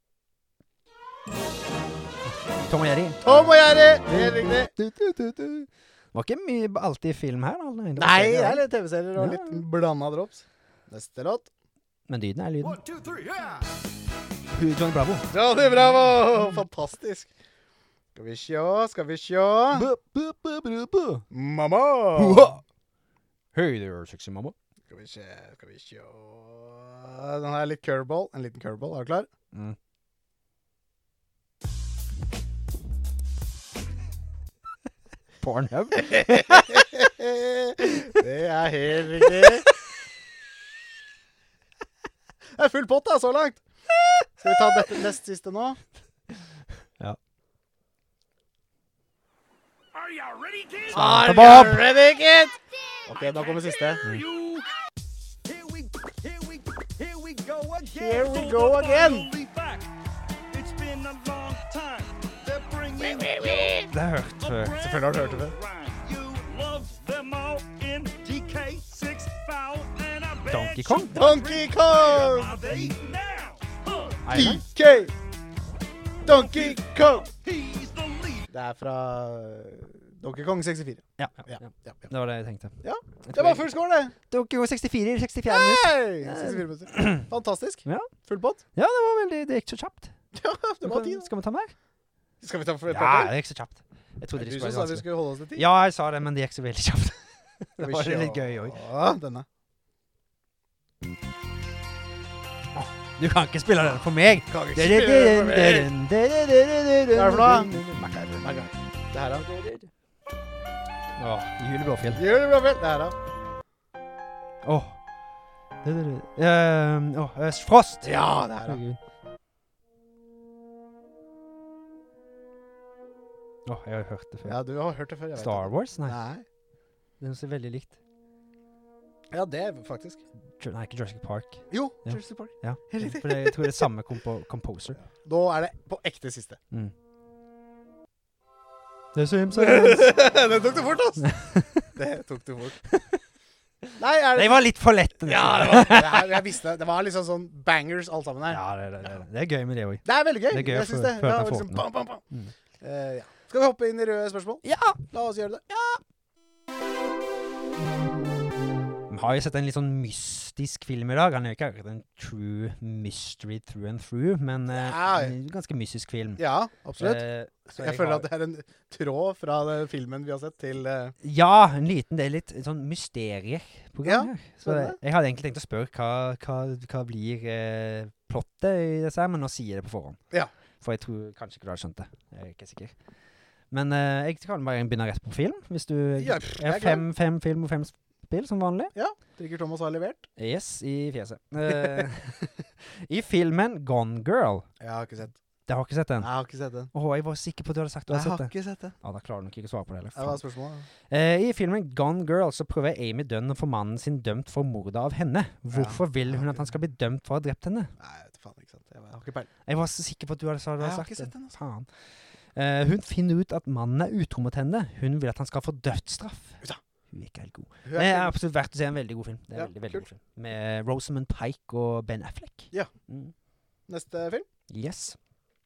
Tom og Jerry. Tom og Jerry! Helt riktig. Det var ikke mye alltid film her, da. Nei, det er litt TV-serier og litt blandet drops. Neste låt. Men lyden er lyden. 1, 2, 3, yeah! Johnny Bravo. Johnny Bravo! Fantastisk. Skal vi sjå. Mamma! Hey there, sexy mamma. Skal vi sjå. Den her er litt curveball. En liten curveball. Er du klar? Pornhub. Det er helt riktig. Det er full pott da, så langt. Skal vi ta dette nest siste nå? Ja. Are you ready, kids? Are Bob. you ready, kid? Ok, nå kommer siste. Here we go again. Here we go again. We'll be back. It's been a long time. They're bringing Det har jeg hørt før. Selvfølgelig har du hørt det før. you love them all in DK6 foul and I bet Donkey Kong? Donkey Kong! are they now? DK! Donkey Kong! He's the lead. Det er fra Donkey Kong 64. Ja. Ja. Det var det jeg tenkte. Ja, det var full score, det. Donkey Kong 64 i 64 minutter. Hey! 64 minutter. Fantastisk. Ja. Full pott. Ja, det var veldig, det gikk så kjapt. Ja, det var tid. Skal vi ta mer? Skal vi ta for et Ja, par det gikk så kjapt. Jeg trodde Du det som skulle sa være vi vanskelig. skulle holde oss til tid. Ja, jeg sa det, men det gikk så veldig kjapt. Skal Det vi var sjå. litt gøy også. Ja, denne. Du kan ikke spille den for meg. Kan ikke spille den for meg. Hva er det for noe? Macar. Det her da. Jule Blåfjell. Gjør det bra vel. Det her da. Frost. Ja, det her da. Herregud. Jeg har hørt det før. Ja, du har hørt det før. Jeg vet Star det. Wars? Nei. Nei. Det er noe så veldig likt. Ja, det er faktisk. Nei, ikke Jurassic Park. Jo, Ja. Jurassic Park. Ja. Helt riktig. For jeg tror det er samme composer. Da er det på ekte siste. Mm. Det er Simpsons! Det tok du fort, ass! Det tok du fort. Nei, er det... Det var litt for lett. Ja, jeg visste. Det var liksom sånn bangers alt sammen her. Ja, det er gøy med det også. Det er veldig gøy. Det er gøy jeg å synes få- det. føle Ja, at jeg får liksom, den. bam, bam, bam. Mm. Ja. Skal vi hoppe inn i røde spørsmål? Ja! La oss gjøre det. Vi har jo sett en litt sånn mystisk film i dag. Han er jo ikke akkurat en true mystery through and through, men Ja. en gansk mystisk film. Ja, absolutt. Så Jeg føler at det er en tråd fra den filmen vi har sett til... Ja, en liten, det er litt sånn mysterieprogram Ja, her. Så spennende. jeg hadde egentlig tenkt å spørre hva blir plottet i disse her, men nå sier jeg det på forhånd. Ja. For jeg tror kanskje ikke du hadde skjønt det. Jeg er ikke sikker. Men jeg kan bare begynne rett på film, hvis du... Ja, jeg har fem film og 5 spill, som vanlig. Trigger Thomas har levert. Yes, i fjeset. I filmen Gone Girl. Jeg har ikke sett. Jeg har ikke sett den. Jeg har ikke sett den. Jeg var sikker på at du hadde sagt du Jeg hadde har sett den. ikke sett den. Ja, da klarer du nok ikke å svare på det heller. Det var spørsmålet. I filmen Gone Girl så prøver Amy Dunn å få mannen sin dømt for mordet av henne. Hvorfor vil hun at han skal bli dømt for å ha drept henne? Nei, jeg vet faen ikke sant. Jeg har ikke peiling. Jeg var så sikker på at du hadde sagt Jeg har det. ikke sett den, altså. Faen. Hun finner ut at mannen er utro mot henne. Hun vil at han skal få dødsstraff. Ja. Hun er ikke helt god. Hun Det er er ikke- absolutt verdt å se en veldig god film. Det er Ja, veldig, veldig kult. god film. Med Rosamund Pike og Ben Affleck. Ja. Mm. Neste film? Yes.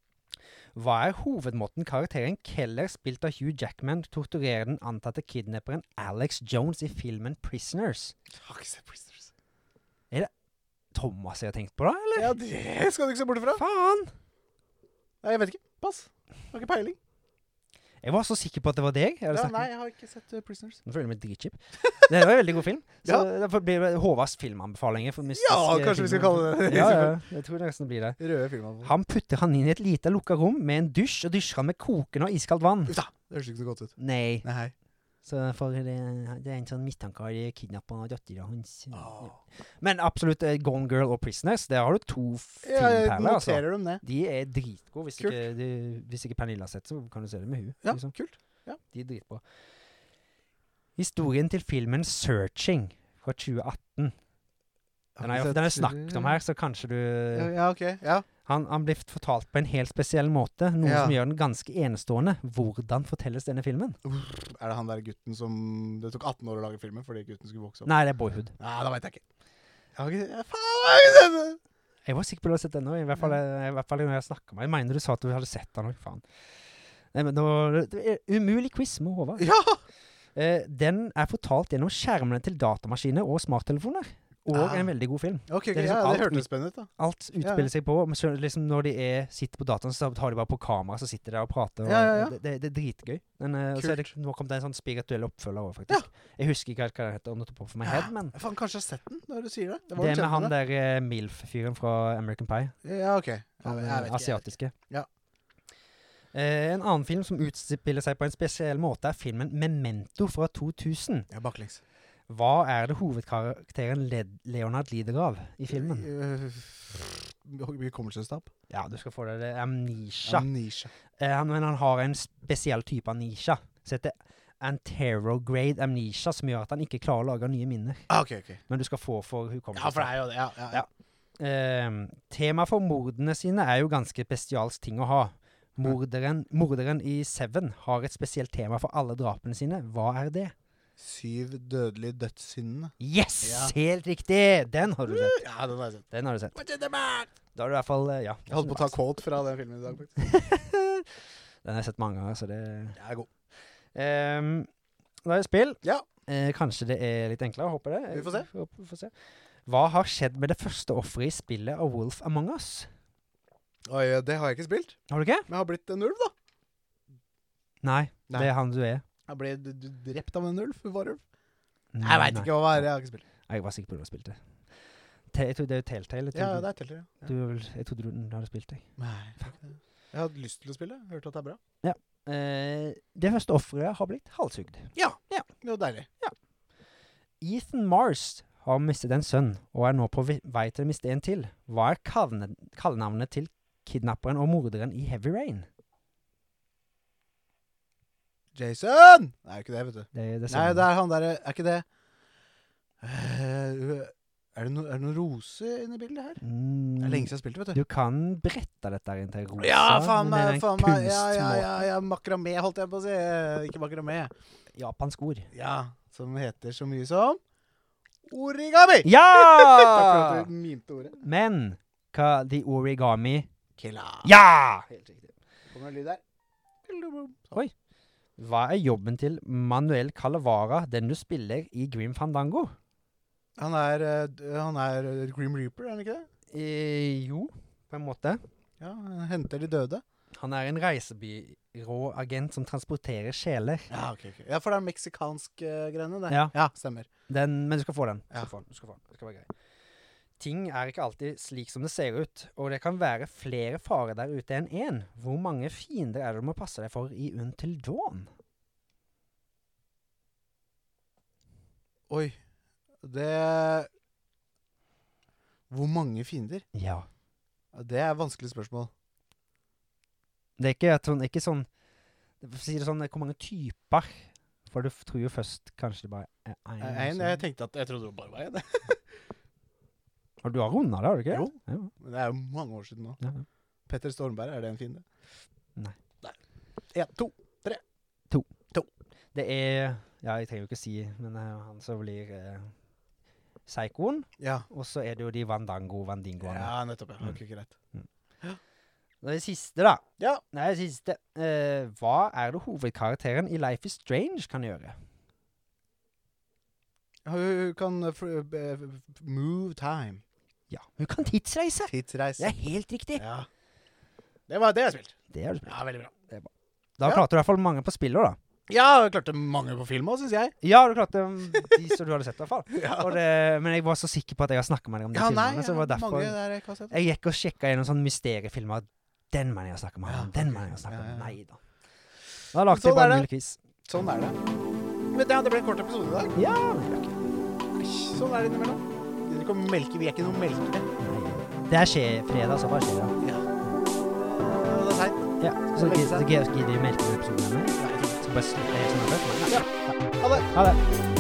Hva er hovedmåten karakteren Keller, spilt av Hugh Jackman, torturerer den antatte kidnapperen Alex Jones i filmen Prisoners? Jeg har ikke sett Prisoners. Thomas jeg har tenkt på da, eller? Ja, det skal du ikke se bort ifra. Faen! Nei, jeg vet ikke. Pass. Jeg har ikke peiling. Jeg var så sikker på at det var deg. Jeg hadde Ja, sagt- nei, jeg har ikke sett Prisoners. Nå føler jeg meg dritkjip. Det var en veldig god film. Så Ja. derfor blir det Håvards filmanbefalinger for mystiske Ja, kanskje vi skal filmer. kalle det det. Ja, jeg tror det nesten blir det. Røde filmer. Han putter han inn i et lite lukket rom med en dusj, og dusjer han med kokende og iskaldt vann. Uff da, det høres ikke så godt ut. Nei. Nei. Så for det er en sånn mistanke av kidnappet datteren hans. Åh. Men absolutt Gone Girl og Prisoners, der har du to Ja, jeg filmperler, altså. noterer dem ned. De er dritgode. Hvis Kult. hvis ikke Pernille har sett, så kan du se det med hun. Ja, liksom. kult. Ja. De er dritbra. Historien til filmen Searching fra 2018. Den er snakket om her, så kanskje du... Ja, ok. Ja. Han blir fortalt på en helt spesiell måte, noe Ja. som gjør den ganske enestående. Hvordan fortelles denne filmen? Er det han der gutten som... Det tok 18 år å lage filmen fordi gutten skulle vokse opp? Nei, det er Boyhood. Nei, da vet jeg ikke. Jeg har ikke... Faen, jeg har ikke sett det! Jeg var sikker på at du hadde sett den nå, i hvert fall når jeg snakket med deg. Jeg mener du sa at du hadde sett den også, faen. Nei, men det er umulig quiz med Håvard. Ja! Den er fortalt gjennom skjermene til datamaskiner og smarttelefoner. Og en veldig god film. Ok, Det er liksom ja, det alt hørtes spennende ut da. Alt utspiller seg på, men så liksom når de sitter på dataen, så tar de bare på kamera, så sitter de der og prater. Og Ja. Det er dritgøy. Men og så er det, nå kom det en sånn spirituell oppfølger også, faktisk. Jeg husker ikke helt hva det heter, on the top of my head, men Jeg faen, kanskje jeg har sett den når du sier det. det var er kjent med han det. der MILF-fyren fra American Pie. Ja, ok. Han Jeg vet ikke. asiatiske. Ja. En annen film som utspiller seg på en spesiell måte er filmen Memento fra 2000. Ja, baklengs. Hva er det hovedkarakteren Leonard lider av i filmen? Hukommelsestap. Ja, du skal få det. Det er amnesia. Amnesia. Men han har en spesiell type amnesia. Så heter anterograde amnesia, som gjør at han ikke klarer å lage nye minner. Ah, ok. Men du skal få for hukommelsestap. Ja, for det er jo det. Ja. Tema for mordene sine er jo ganske spesialsk ting å ha. Morderen i Seven har et spesielt tema for alle drapene sine. Hva er det? 7 dødelige dødssyndene. Yes! Ja. Helt riktig! Den har du sett. Ja, den har jeg sett. Den har du sett. What's in the bag? Da har du i hvert fall, ja. Jeg holdt på å ta quote fra den filmen i dag, faktisk. Den har jeg sett mange ganger, så det... Jeg er god. Da er det spill. Ja. Kanskje det er litt enklere, håper det. Vi får se. Vi får se. Hva har skjedd med det første offeret i spillet av Wolf Among Us? Oi, det har jeg ikke spilt. Har du ikke? Men jeg har blitt en ulv, da. Nei, Nei. det er han du er. Jeg ble drept av en ulv, varulv. Nei, Jeg vet ikke hva det er, jeg har ikke spilt. Jeg var sikker på at du har spilt det. Jeg tror det er jo Telltale. Ja, det er Telltale, ja. Jeg trodde du hadde spilt det. Nei, jeg har lyst til å spille. Jeg har hørt at det er bra. Det første offeret har blitt halshugd. Ja, det var deilig. Ethan Mars har mistet en sønn, og er nå på vei til å miste en til. Hva er kallenavnet til kidnapperen og morderen i Heavy Rain? Jason! Nei, ikke det, vet du. Det Nei, det er han der, er ikke det. Er det noen rose inne i bildet her? Det er lenge siden jeg spilte, vet du. Du kan brette dette inn til rosa. Ja, faen men det er meg, en faen meg. kunstmåte. Ja, makramé holdt jeg på å si. Ikke makramé. Japansk ord. Ja, som heter så mye som origami! Ja! Takk for at du mimte ordet. Men hva The Origami Killa. Ja! Helt riktig. Kommer det en lyd der? Oi. Hva er jobben til Manuel Calavara, den du spiller i Grim Fandango? Han er Grim Reaper, er han ikke det? Jo, på en måte. Ja, han henter de døde. Han er en reisebyråagent som transporterer sjeler. Ja, ok. Ja, for det er meksikansk greiene, det. Ja. Stemmer. Men du skal få den. Ja. Du skal få den. Det skal være greit. Ting er ikke alltid slik som det ser ut, og det kan være flere farer der ute enn en. Hvor mange fiender er det du må passe deg for i Until Dawn? Oi. Hvor mange fiender? Ja. Det er et vanskelig spørsmål. Det er ikke sånn, for å si det sånn, hvor mange typer, for du tror jo først kanskje det bare er en. Jeg tenkte jeg trodde det bare var en. Og du har rundet det, har du ikke? Jo. Ja. Men det er jo mange år siden nå. Ja. Petter Stormberg, er det en fiende? Nei. 1, 2, 3. Det er, ja, jeg trenger jo ikke si, men han som blir Psykoen, Ja. og så er det jo de Vandingoene. Ja, nettopp. Ja. Ok, greit. Og det siste da. Ja. Nei, det siste. Hva er det hovedkarakteren i Life is Strange kan gjøre? Hun kan move time. Ja, hun kan tidsreise. Tidsreise. Det er helt riktig. Ja. Det var det jeg spilte. Det har du spilt. Ja, veldig bra. Da klarte du i hvert fall mange på spillet da. Ja, jeg klarte mange på film også, synes jeg. Ja, du klarte de som du hadde sett i hvert fall. Ja. Men jeg var så sikker på at jeg har snakket med deg om de filmene, så det var derfor mange der jeg ikke har sett. jeg gikk og sjekket gjennom sånne mysteriefilmer. Den mannen jeg snakket med, Ja, den ok. mannen jeg snakket Ja, med. ja. Nei da. Da lagde Sånn jeg bare er en det. mulig quiz. Sånn er det. Men det ble en kort episode i dag. Ja, men det er ikke. Sånn er det innimellom. Vi er ikke noen melkere. Nei. Det er fredag, så bare skjer det. Ja. Det er seint. Ja, så gidder vi melke en episode med meg. Nei, jeg tror det. Så bare slutter jeg helt sånn. Ja. Ha det. Ha det.